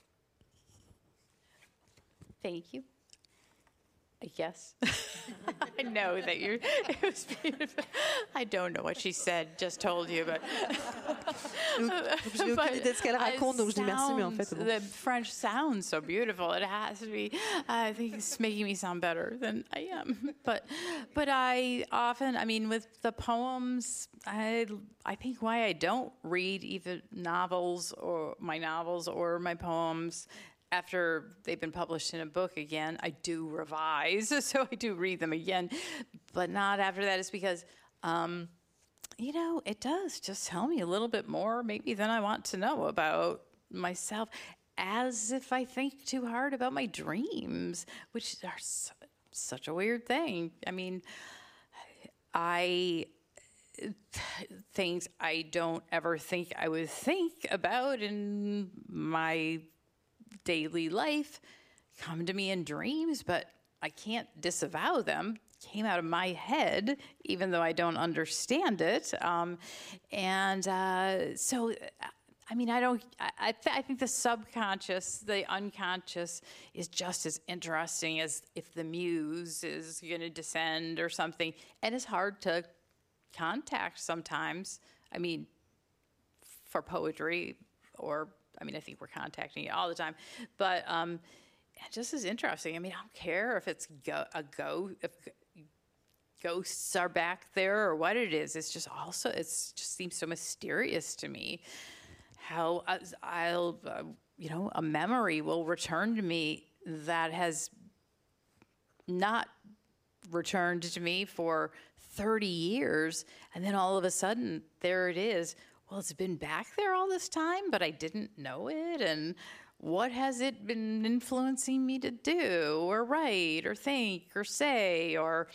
Thank you. Yes. I know that it was beautiful. I don't know what she said, just told you, but. J'ai aucune idée de ce qu'elle raconte, donc je dis merci, mais en fait. Bon. The French sounds so beautiful. It has to be. I think it's making me sound better than I am. But I often, with the poems, I think why I don't read even novels or my poems after they've been published in a book again. I do revise, so I do read them again, but not after that. It's because you know, it does just tell me a little bit more maybe than I want to know about myself, as if I think too hard about my dreams, which are such a weird thing. I mean, things I don't ever think I would think about in my daily life come to me in dreams, but I can't disavow them. Came out of my head, even though I don't understand it. So, I mean, I think the subconscious, the unconscious is just as interesting as if the muse is going to descend or something. And it's hard to contact sometimes. I mean, for poetry, or, I mean, I think we're contacting it all the time. But just as interesting. I mean, I don't care if it's if ghosts are back there or what it is. It's just also, it just seems so mysterious to me how a memory will return to me that has not returned to me for 30 years. And then all of a sudden, there it is. Well, it's been back there all this time, but I didn't know it. And what has it been influencing me to do or write or think or say or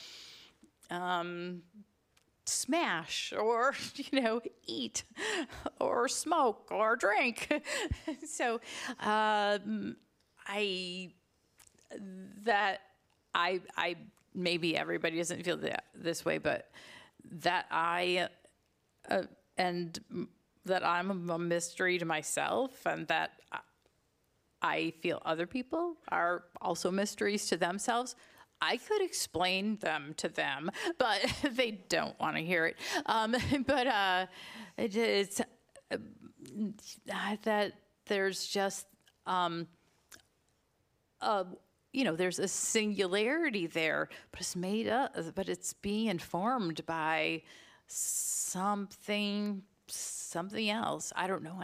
smash or, eat or smoke or drink? So I maybe everybody doesn't feel this way, but that and that I'm a mystery to myself, and that I feel other people are also mysteries to themselves. I could explain them to them, but they don't want to hear it. It's that there's just, there's a singularity there, but it's made up, but it's being informed by something else. I don't know.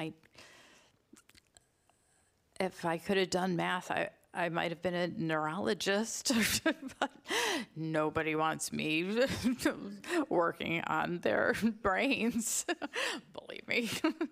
If I could have done math, I might have been a neurologist, but nobody wants me working on their brains, believe me.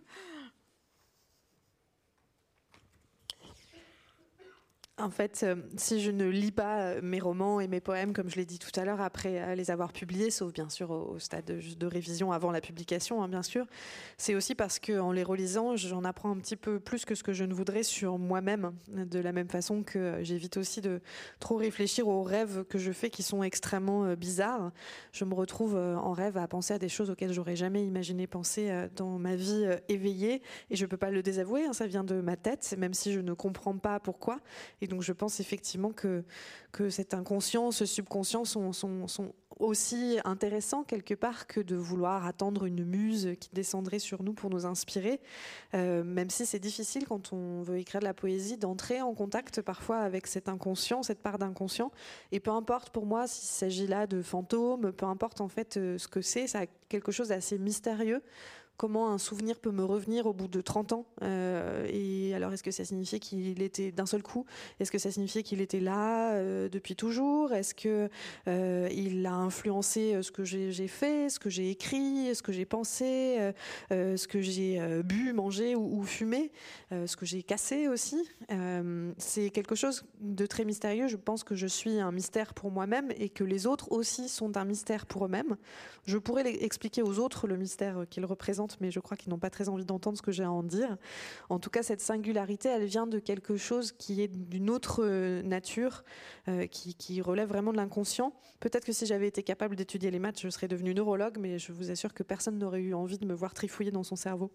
En fait, si je ne lis pas mes romans et mes poèmes, comme je l'ai dit tout à l'heure, après les avoir publiés, sauf bien sûr au stade de révision avant la publication, bien sûr, c'est aussi parce qu'en les relisant, j'en apprends un petit peu plus que ce que je ne voudrais sur moi-même, de la même façon que j'évite aussi de trop réfléchir aux rêves que je fais qui sont extrêmement bizarres. Je me retrouve en rêve à penser à des choses auxquelles j'aurais jamais imaginé penser dans ma vie éveillée, et je ne peux pas le désavouer, ça vient de ma tête, même si je ne comprends pas pourquoi. Et donc je pense effectivement que cet inconscient, ce subconscient sont aussi intéressants quelque part que de vouloir attendre une muse qui descendrait sur nous pour nous inspirer, même si c'est difficile quand on veut écrire de la poésie d'entrer en contact parfois avec cet inconscient, cette part d'inconscient. Et peu importe pour moi s'il s'agit là de fantômes, peu importe en fait ce que c'est, ça a quelque chose d'assez mystérieux. Comment un souvenir peut me revenir au bout de 30 ans et alors, est-ce que ça signifiait qu'il était d'un seul coup? Est-ce que ça signifiait qu'il était là depuis toujours? Est-ce qu'il a influencé ce que j'ai fait, ce que j'ai écrit, ce que j'ai pensé, ce que j'ai bu, mangé ou fumé, ce que j'ai cassé aussi? C'est quelque chose de très mystérieux. Je pense que je suis un mystère pour moi-même et que les autres aussi sont un mystère pour eux-mêmes. Je pourrais expliquer aux autres le mystère qu'ils représentent, mais je crois qu'ils n'ont pas très envie d'entendre ce que j'ai à en dire. En tout cas, cette singularité, elle vient de quelque chose qui est d'une autre nature, qui relève vraiment de l'inconscient. Peut-être que si j'avais été capable d'étudier les maths, je serais devenue neurologue, mais je vous assure que personne n'aurait eu envie de me voir trifouiller dans son cerveau.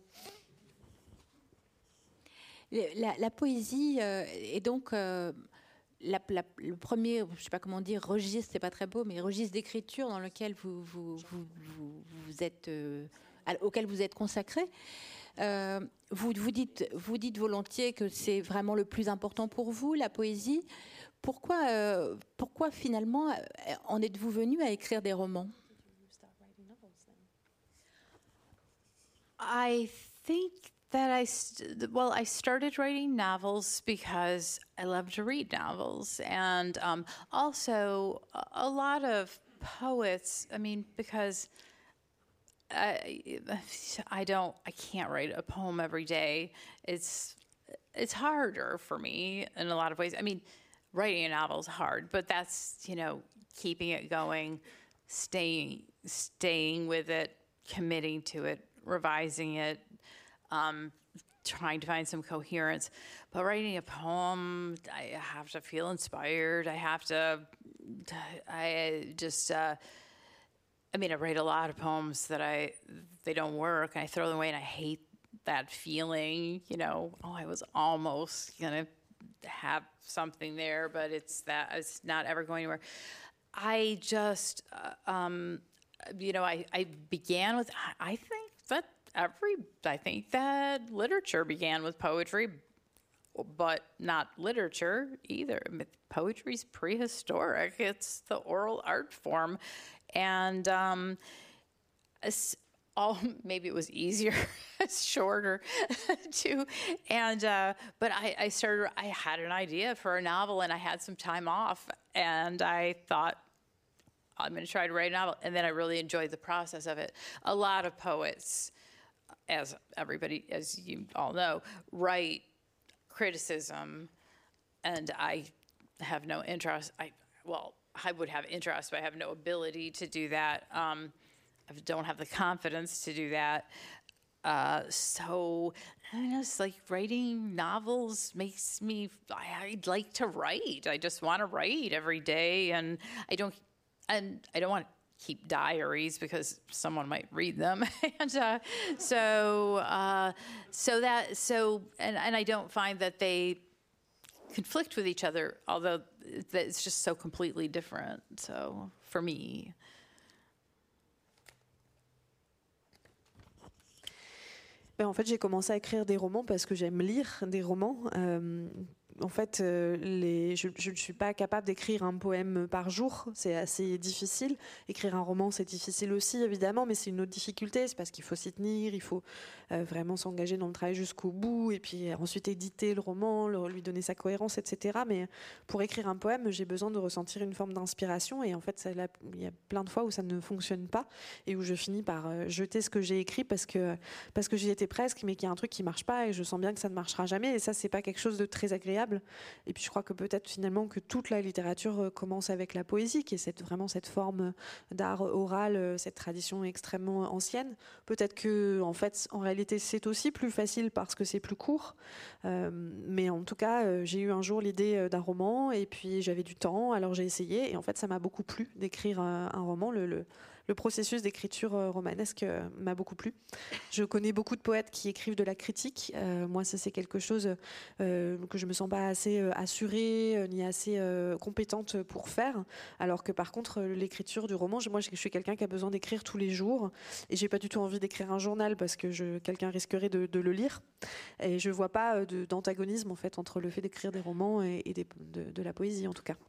La poésie est donc... le premier, je ne sais pas comment dire, registre, c'est pas très beau, mais registre d'écriture dans lequel vous êtes, auquel vous êtes consacré. Vous dites volontiers que c'est vraiment le plus important pour vous, la poésie. Pourquoi finalement en êtes-vous venu à écrire des romans? I think that I started writing novels because I love to read novels, and also a lot of poets. I mean, because I can't write a poem every day. It's harder for me in a lot of ways. I mean, writing a novel is hard, but that's, keeping it going, staying with it, committing to it, revising it, trying to find some coherence. But writing a poem, I have to feel inspired. I write a lot of poems that they don't work, and I throw them away, and I hate that feeling, I was almost gonna have something there, but it's not ever going anywhere. I just, I began with, I think that literature began with poetry, but not literature either. Poetry's prehistoric. It's the oral art form. And maybe it was easier, shorter too. And but I had an idea for a novel, and I had some time off, and I thought, I'm going to try to write a novel. And then I really enjoyed the process of it. A lot of poets, as you all know, write criticism, and I have no interest. I would have interest, but I have no ability to do that. I don't have the confidence to do that. So it's like writing novels makes me, I'd like to write. I just want to write every day, and I don't want to keep diaries because someone might read them. And I don't find that they conflict with each other, although it's just so completely different. So for me. En fait, j'ai commencé à écrire des romans parce que j'aime lire des romans. En fait, je ne suis pas capable d'écrire un poème par jour, c'est assez difficile. Écrire un roman, c'est difficile aussi, évidemment, mais c'est une autre difficulté, c'est parce qu'il faut s'y tenir, il faut vraiment s'engager dans le travail jusqu'au bout, et puis ensuite éditer le roman, lui donner sa cohérence, etc. Mais pour écrire un poème, j'ai besoin de ressentir une forme d'inspiration, et en fait, il y a plein de fois où ça ne fonctionne pas, et où je finis par jeter ce que j'ai écrit parce que j'y étais presque, mais qu'il y a un truc qui ne marche pas, et je sens bien que ça ne marchera jamais, et ça, c'est pas quelque chose de très agréable. Et puis je crois que peut-être finalement que toute la littérature commence avec la poésie, qui est vraiment cette forme d'art oral, cette tradition extrêmement ancienne. Peut-être que en réalité c'est aussi plus facile parce que c'est plus court. Mais en tout cas, j'ai eu un jour l'idée d'un roman, et puis j'avais du temps, alors j'ai essayé, et en fait ça m'a beaucoup plu d'écrire un roman. Le processus d'écriture romanesque m'a beaucoup plu. Je connais beaucoup de poètes qui écrivent de la critique. Moi, ça, c'est quelque chose que je me sens pas assez assurée ni assez compétente pour faire. Alors que par contre, l'écriture du roman, moi, je suis quelqu'un qui a besoin d'écrire tous les jours. Et j'ai pas du tout envie d'écrire un journal parce que quelqu'un risquerait de le lire. Et je vois pas d'antagonisme en fait entre le fait d'écrire des romans et de la poésie en tout cas.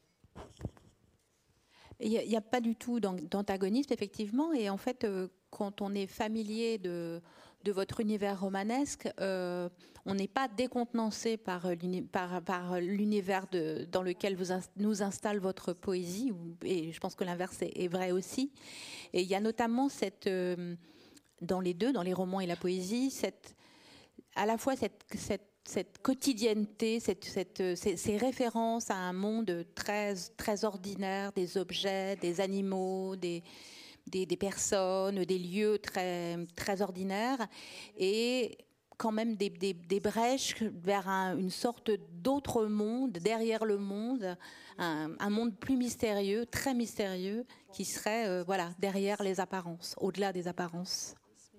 Il n'y a pas du tout d'antagonisme, effectivement. Et en fait, quand on est familier de votre univers romanesque, on n'est pas décontenancé par l'univers dans lequel nous installe votre poésie. Et je pense que l'inverse est vrai aussi. Et il y a notamment dans les deux, dans les romans et la poésie, à la fois cette quotidienneté, ces références à un monde très, très ordinaire, des objets, des animaux, des personnes, des lieux très, très ordinaires, et quand même des brèches vers une sorte d'autre monde, derrière le monde, un monde plus mystérieux, très mystérieux, qui serait derrière les apparences, au-delà des apparences.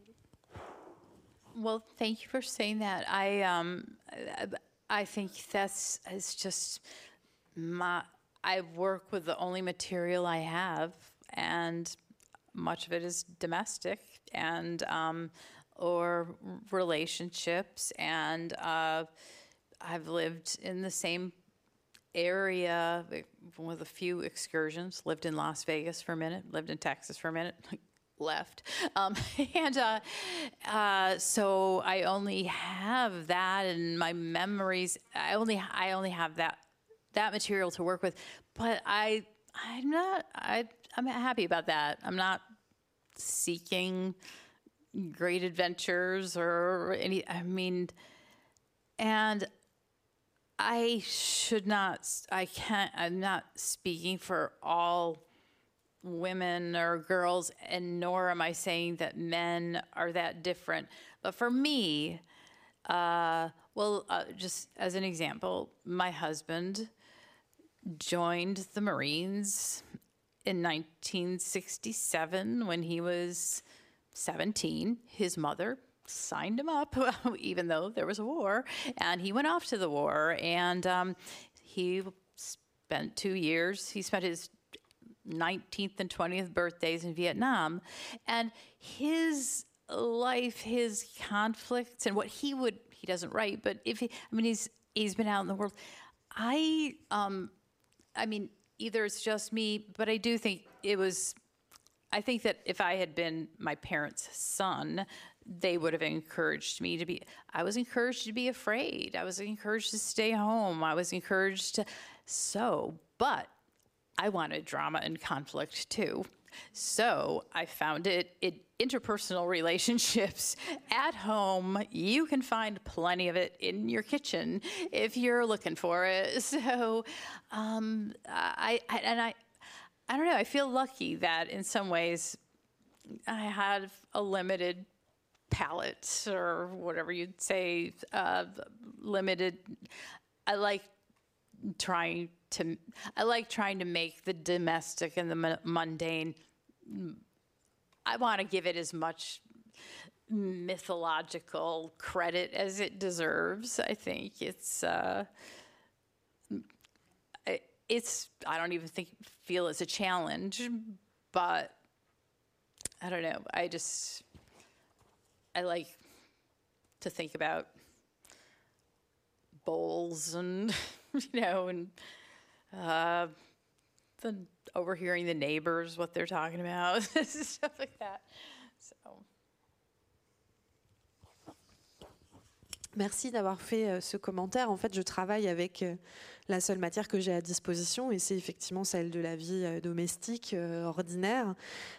Well, thank you for saying that. I think it's just I work with the only material I have, and much of it is domestic and or relationships. And I've lived in the same area with a few excursions. Lived in Las Vegas for a minute. Lived in Texas for a minute. Left. So I only have that in my memories. I only have that material to work with, but I'm happy about that. I'm not seeking great adventures or any, I mean, and I'm not speaking for all women or girls, and nor am I saying that men are that different. But for me, just as an example, my husband joined the Marines in 1967 when he was 17. His mother signed him up, even though there was a war, and he went off to the war, and he spent 2 years. He spent his 19th and 20th birthdays in Vietnam, and his life, his conflicts, and what he doesn't write, but he's been out in the world. I mean, either it's just me, but I do think I think that if I had been my parents' son, they would have encouraged me to be, I was encouraged to be afraid. I was encouraged to stay home. I was encouraged to but I wanted drama and conflict too. So I found it in interpersonal relationships at home. You can find plenty of it in your kitchen if you're looking for it. So I don't know. I feel lucky that in some ways I had a limited palette, or whatever you'd say, limited. I like trying to make the domestic and the mundane. I want to give it as much mythological credit as it deserves. I think it's I don't even feel it's a challenge, but I don't know. I like to think about bowls and and then overhearing the neighbors, what they're talking about, stuff like that. So. Merci d'avoir fait ce commentaire. En fait, je travaille avec la seule matière que j'ai à disposition, et c'est effectivement celle de la vie domestique ordinaire,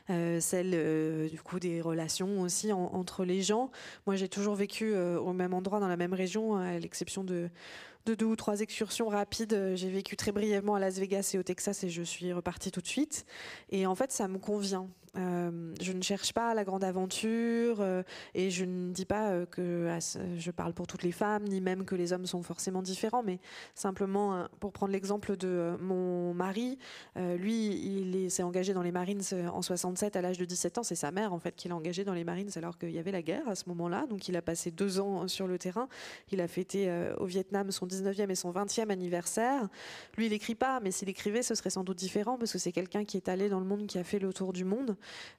celle du coup des relations aussi entre les gens. Moi, j'ai toujours vécu au même endroit, dans la même région, à l'exception de 2 ou 3 excursions rapides. J'ai vécu très brièvement à Las Vegas et au Texas, et je suis repartie tout de suite. Et en fait, ça me convient. Je ne cherche pas la grande aventure, et je ne dis pas que je parle pour toutes les femmes, ni même que les hommes sont forcément différents, mais simplement pour prendre l'exemple de mon mari, lui il s'est engagé dans les Marines en 67 à l'âge de 17 ans. C'est sa mère en fait qui l'a engagé dans les Marines alors qu'il y avait la guerre à ce moment-là, donc il a passé 2 ans sur le terrain. Il a fêté au Vietnam son 19e et son 20e anniversaire. Lui il écrit pas, mais s'il écrivait ce serait sans doute différent, parce que c'est quelqu'un qui est allé dans le monde, qui a fait le tour du monde.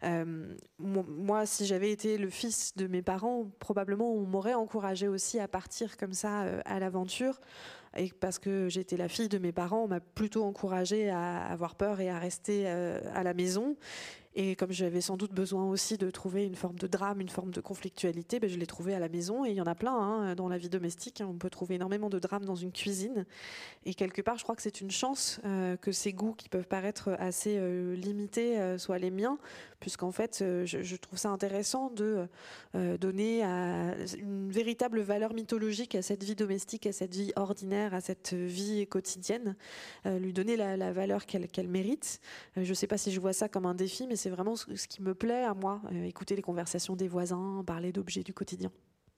Moi, si j'avais été le fils de mes parents, probablement on m'aurait encouragé aussi à partir comme ça à l'aventure. Et parce que j'étais la fille de mes parents, on m'a plutôt encouragée à avoir peur et à rester à la maison. Et comme j'avais sans doute besoin aussi de trouver une forme de drame, une forme de conflictualité, je l'ai trouvé à la maison. Et il y en a plein dans la vie domestique. On peut trouver énormément de drames dans une cuisine. Et quelque part, je crois que c'est une chance que ces goûts qui peuvent paraître assez limités soient les miens, puisqu'en fait, je trouve ça intéressant de donner une véritable valeur mythologique à cette vie domestique, à cette vie ordinaire, à cette vie quotidienne, lui donner la valeur qu'elle mérite. Je ne sais pas si je vois ça comme un défi, mais c'est vraiment ce qui me plaît à moi, écouter les conversations des voisins, parler d'objets du quotidien.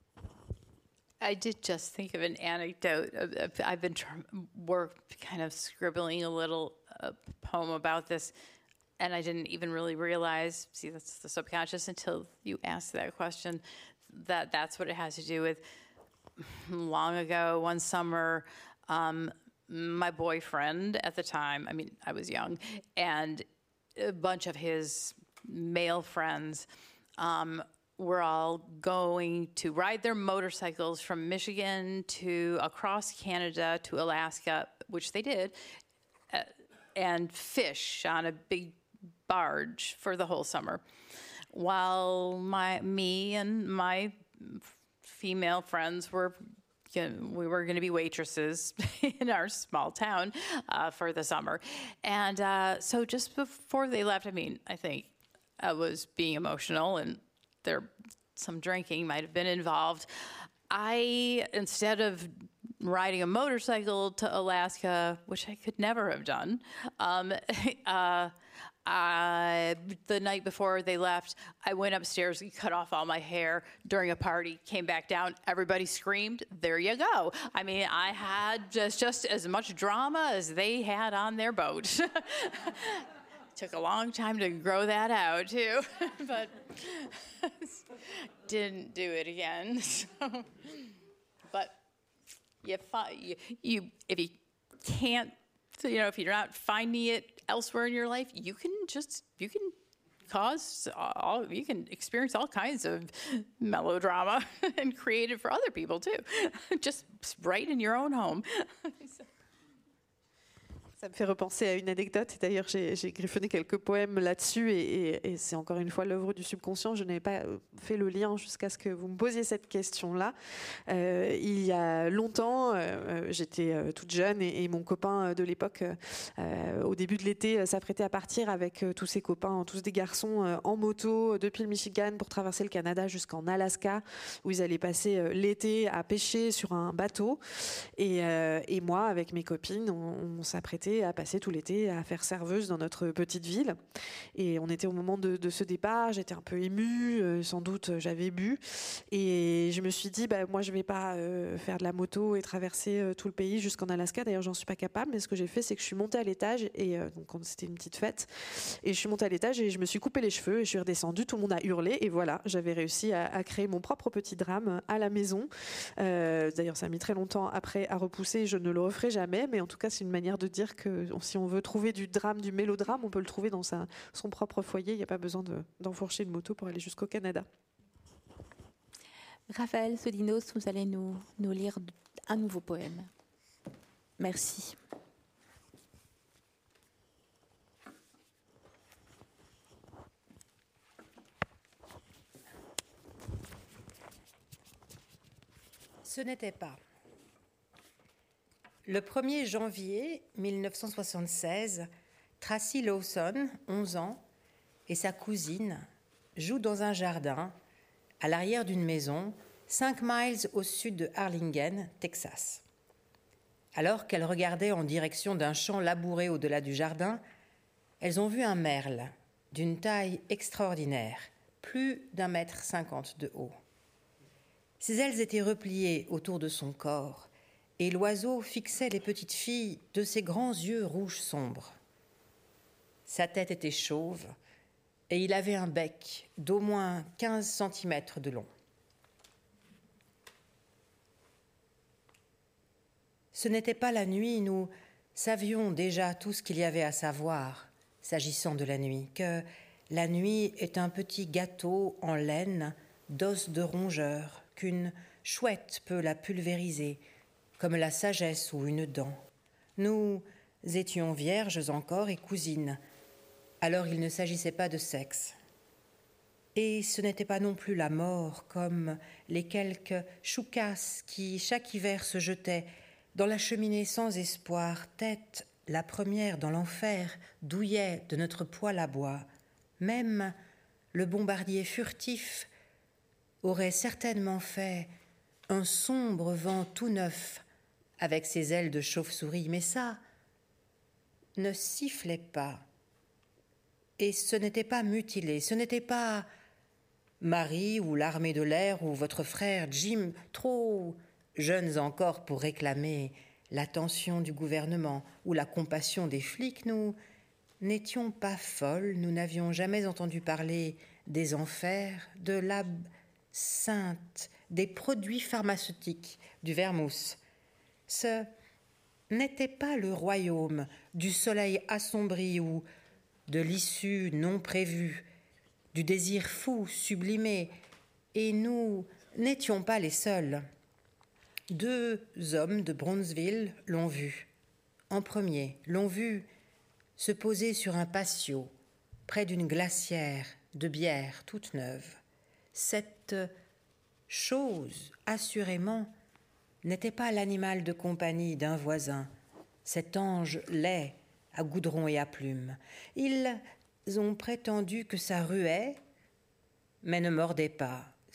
I did just think of an anecdote. I've been kind of scribbling a little poem about this, and I didn't even really realize, see, that's the subconscious, until you asked that question, that's what it has to do with. Long ago, one summer, my boyfriend at the time, I was young, and a bunch of his male friends were all going to ride their motorcycles from Michigan to across Canada to Alaska, which they did, and fish on a big barge for the whole summer, while me and my female friends we were going to be waitresses in our small town for the summer. And so just before they left, I think I was being emotional, and they're some drinking might have been involved. Instead of riding a motorcycle to Alaska, which I could never have done, the night before they left, I went upstairs and cut off all my hair during a party, came back down, everybody screamed, there you go. I mean, I had just as much drama as they had on their boat. Took a long time to grow that out, too, but didn't do it again. So. But if you can't, if you're not finding it elsewhere in your life, you can experience all kinds of melodrama and create it for other people too, just right in your own home. Ça me fait repenser à une anecdote. D'ailleurs, j'ai griffonné quelques poèmes là-dessus et c'est encore une fois l'œuvre du subconscient. Je n'avais pas fait le lien jusqu'à ce que vous me posiez cette question-là. Il y a longtemps, j'étais toute jeune et mon copain de l'époque, au début de l'été, s'apprêtait à partir avec tous ses copains, tous des garçons, en moto depuis le Michigan pour traverser le Canada jusqu'en Alaska, où ils allaient passer l'été à pêcher sur un bateau. Et moi, avec mes copines, on s'apprêtait à passer tout l'été à faire serveuse dans notre petite ville. Et on était au moment de ce départ, j'étais un peu émue, sans doute j'avais bu. Et je me suis dit, moi je vais pas faire de la moto et traverser tout le pays jusqu'en Alaska. D'ailleurs, j'en suis pas capable, mais ce que j'ai fait, c'est que je suis montée à l'étage, et donc c'était une petite fête. Et je suis montée à l'étage et je me suis coupé les cheveux et je suis redescendue, tout le monde a hurlé. Et voilà, j'avais réussi à créer mon propre petit drame à la maison. D'ailleurs, ça a mis très longtemps après à repousser, je ne le referai jamais, mais en tout cas, c'est une manière de dire que si on veut trouver du drame, du mélodrame, on peut le trouver dans son propre foyer. Il n'y a pas besoin d'enfourcher une moto pour aller jusqu'au Canada. Raphaël Sodinos, vous allez nous lire un nouveau poème. Merci. Ce n'était pas. Le 1er janvier 1976, Tracy Lawson, 11 ans, et sa cousine jouent dans un jardin à l'arrière d'une maison 5 miles au sud de Harlingen, Texas. Alors qu'elles regardaient en direction d'un champ labouré au-delà du jardin, elles ont vu un merle d'une taille extraordinaire, plus d'1,50 m de haut. Ses ailes étaient repliées autour de son corps, et l'oiseau fixait les petites filles de ses grands yeux rouges sombres. Sa tête était chauve, et il avait un bec d'au moins 15 cm de long. Ce n'était pas la nuit, nous savions déjà tout ce qu'il y avait à savoir, s'agissant de la nuit, que la nuit est un petit gâteau en laine d'os de rongeur, qu'une chouette peut la pulvériser, comme la sagesse ou une dent. Nous étions vierges encore et cousines, alors il ne s'agissait pas de sexe. Et ce n'était pas non plus la mort, comme les quelques choucasses qui, chaque hiver, se jetaient dans la cheminée sans espoir, tête la première dans l'enfer, douillet de notre poêle à bois. Même le bombardier furtif aurait certainement fait un sombre vent tout neuf avec ses ailes de chauve-souris, mais ça ne sifflait pas. Et ce n'était pas mutilé, ce n'était pas Marie ou l'armée de l'air ou votre frère Jim, trop jeunes encore pour réclamer l'attention du gouvernement ou la compassion des flics. Nous n'étions pas folles, nous n'avions jamais entendu parler des enfers, de l'absinthe, des produits pharmaceutiques, du vermouth. Ce n'était pas le royaume du soleil assombri ou de l'issue non prévue, du désir fou sublimé, et nous n'étions pas les seuls. 2 hommes de Brownsville l'ont vu. En premier, l'ont vu se poser sur un patio, près d'une glacière de bière toute neuve. Cette chose, assurément, n'était pas l'animal de compagnie d'un voisin, cet ange laid à goudron et à plumes. Ils ont prétendu que ça ruait, mais ne mordait pas,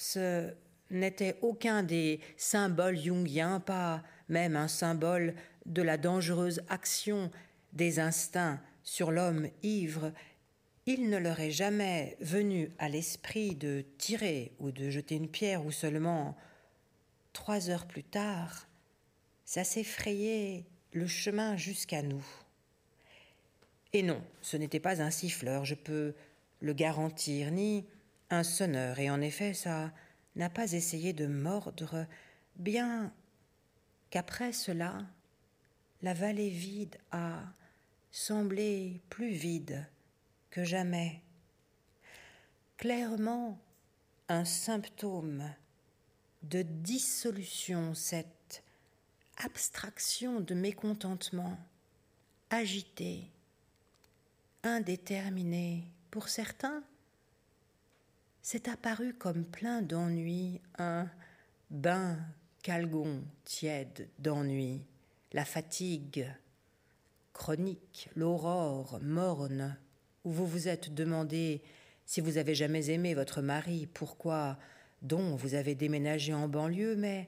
ce n'était aucun des symboles jungiens, pas même un symbole de la dangereuse action des instincts sur l'homme ivre, il ne leur est jamais venu à l'esprit de tirer ou de jeter une pierre, ou seulement 3 heures plus tard, ça s'est frayé le chemin jusqu'à nous. Et non, ce n'était pas un siffleur, je peux le garantir, ni un sonneur, et en effet, ça n'a pas essayé de mordre, bien qu'après cela, la vallée vide a semblé plus vide que jamais. Clairement, un symptôme de dissolution, cette abstraction de mécontentement, agité, indéterminé. Pour certains, c'est apparu comme plein d'ennui, un bain calgon tiède d'ennui, la fatigue chronique, l'aurore morne, où vous vous êtes demandé si vous avez jamais aimé votre mari, pourquoi donc vous avez déménagé en banlieue, mais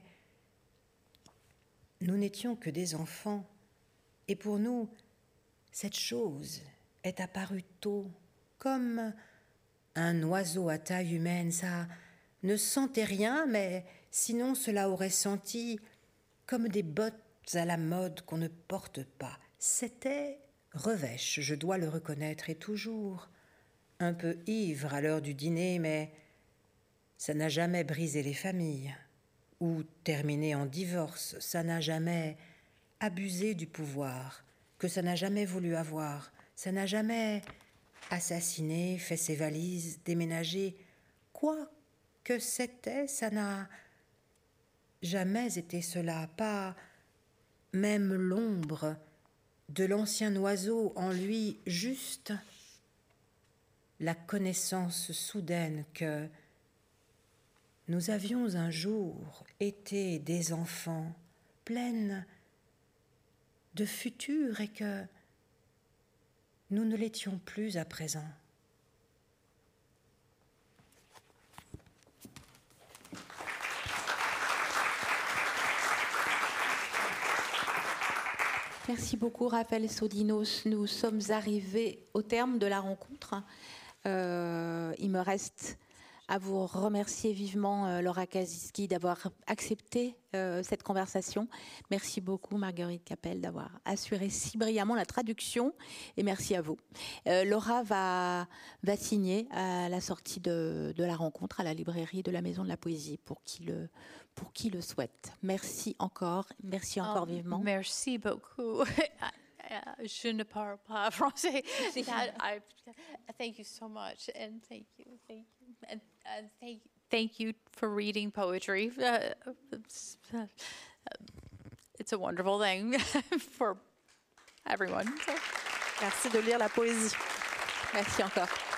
nous n'étions que des enfants, et pour nous, cette chose est apparue tôt, comme un oiseau à taille humaine. Ça ne sentait rien, mais sinon cela aurait senti comme des bottes à la mode qu'on ne porte pas. C'était revêche, je dois le reconnaître, et toujours un peu ivre à l'heure du dîner, mais ça n'a jamais brisé les familles ou terminé en divorce, ça n'a jamais abusé du pouvoir que ça n'a jamais voulu avoir, ça n'a jamais assassiné, fait ses valises, déménagé, quoi que c'était, ça n'a jamais été cela, pas même l'ombre de l'ancien oiseau en lui, juste la connaissance soudaine que nous avions un jour été des enfants pleines de futur et que nous ne l'étions plus à présent. Merci beaucoup, Raphaël Sodinos. Nous sommes arrivés au terme de la rencontre. Il me reste à vous remercier vivement, Laura Kasiski, d'avoir accepté cette conversation. Merci beaucoup, Marguerite Capelle, d'avoir assuré si brillamment la traduction. Et merci à vous. Laura va signer à la sortie de la rencontre à la librairie de la Maison de la Poésie pour qui le souhaite. Merci encore vivement. Merci beaucoup. Je ne parle pas français. Thank you so much, and thank you, and thank you for reading poetry. It's a wonderful thing for everyone. So. Merci de lire la poésie. Merci encore.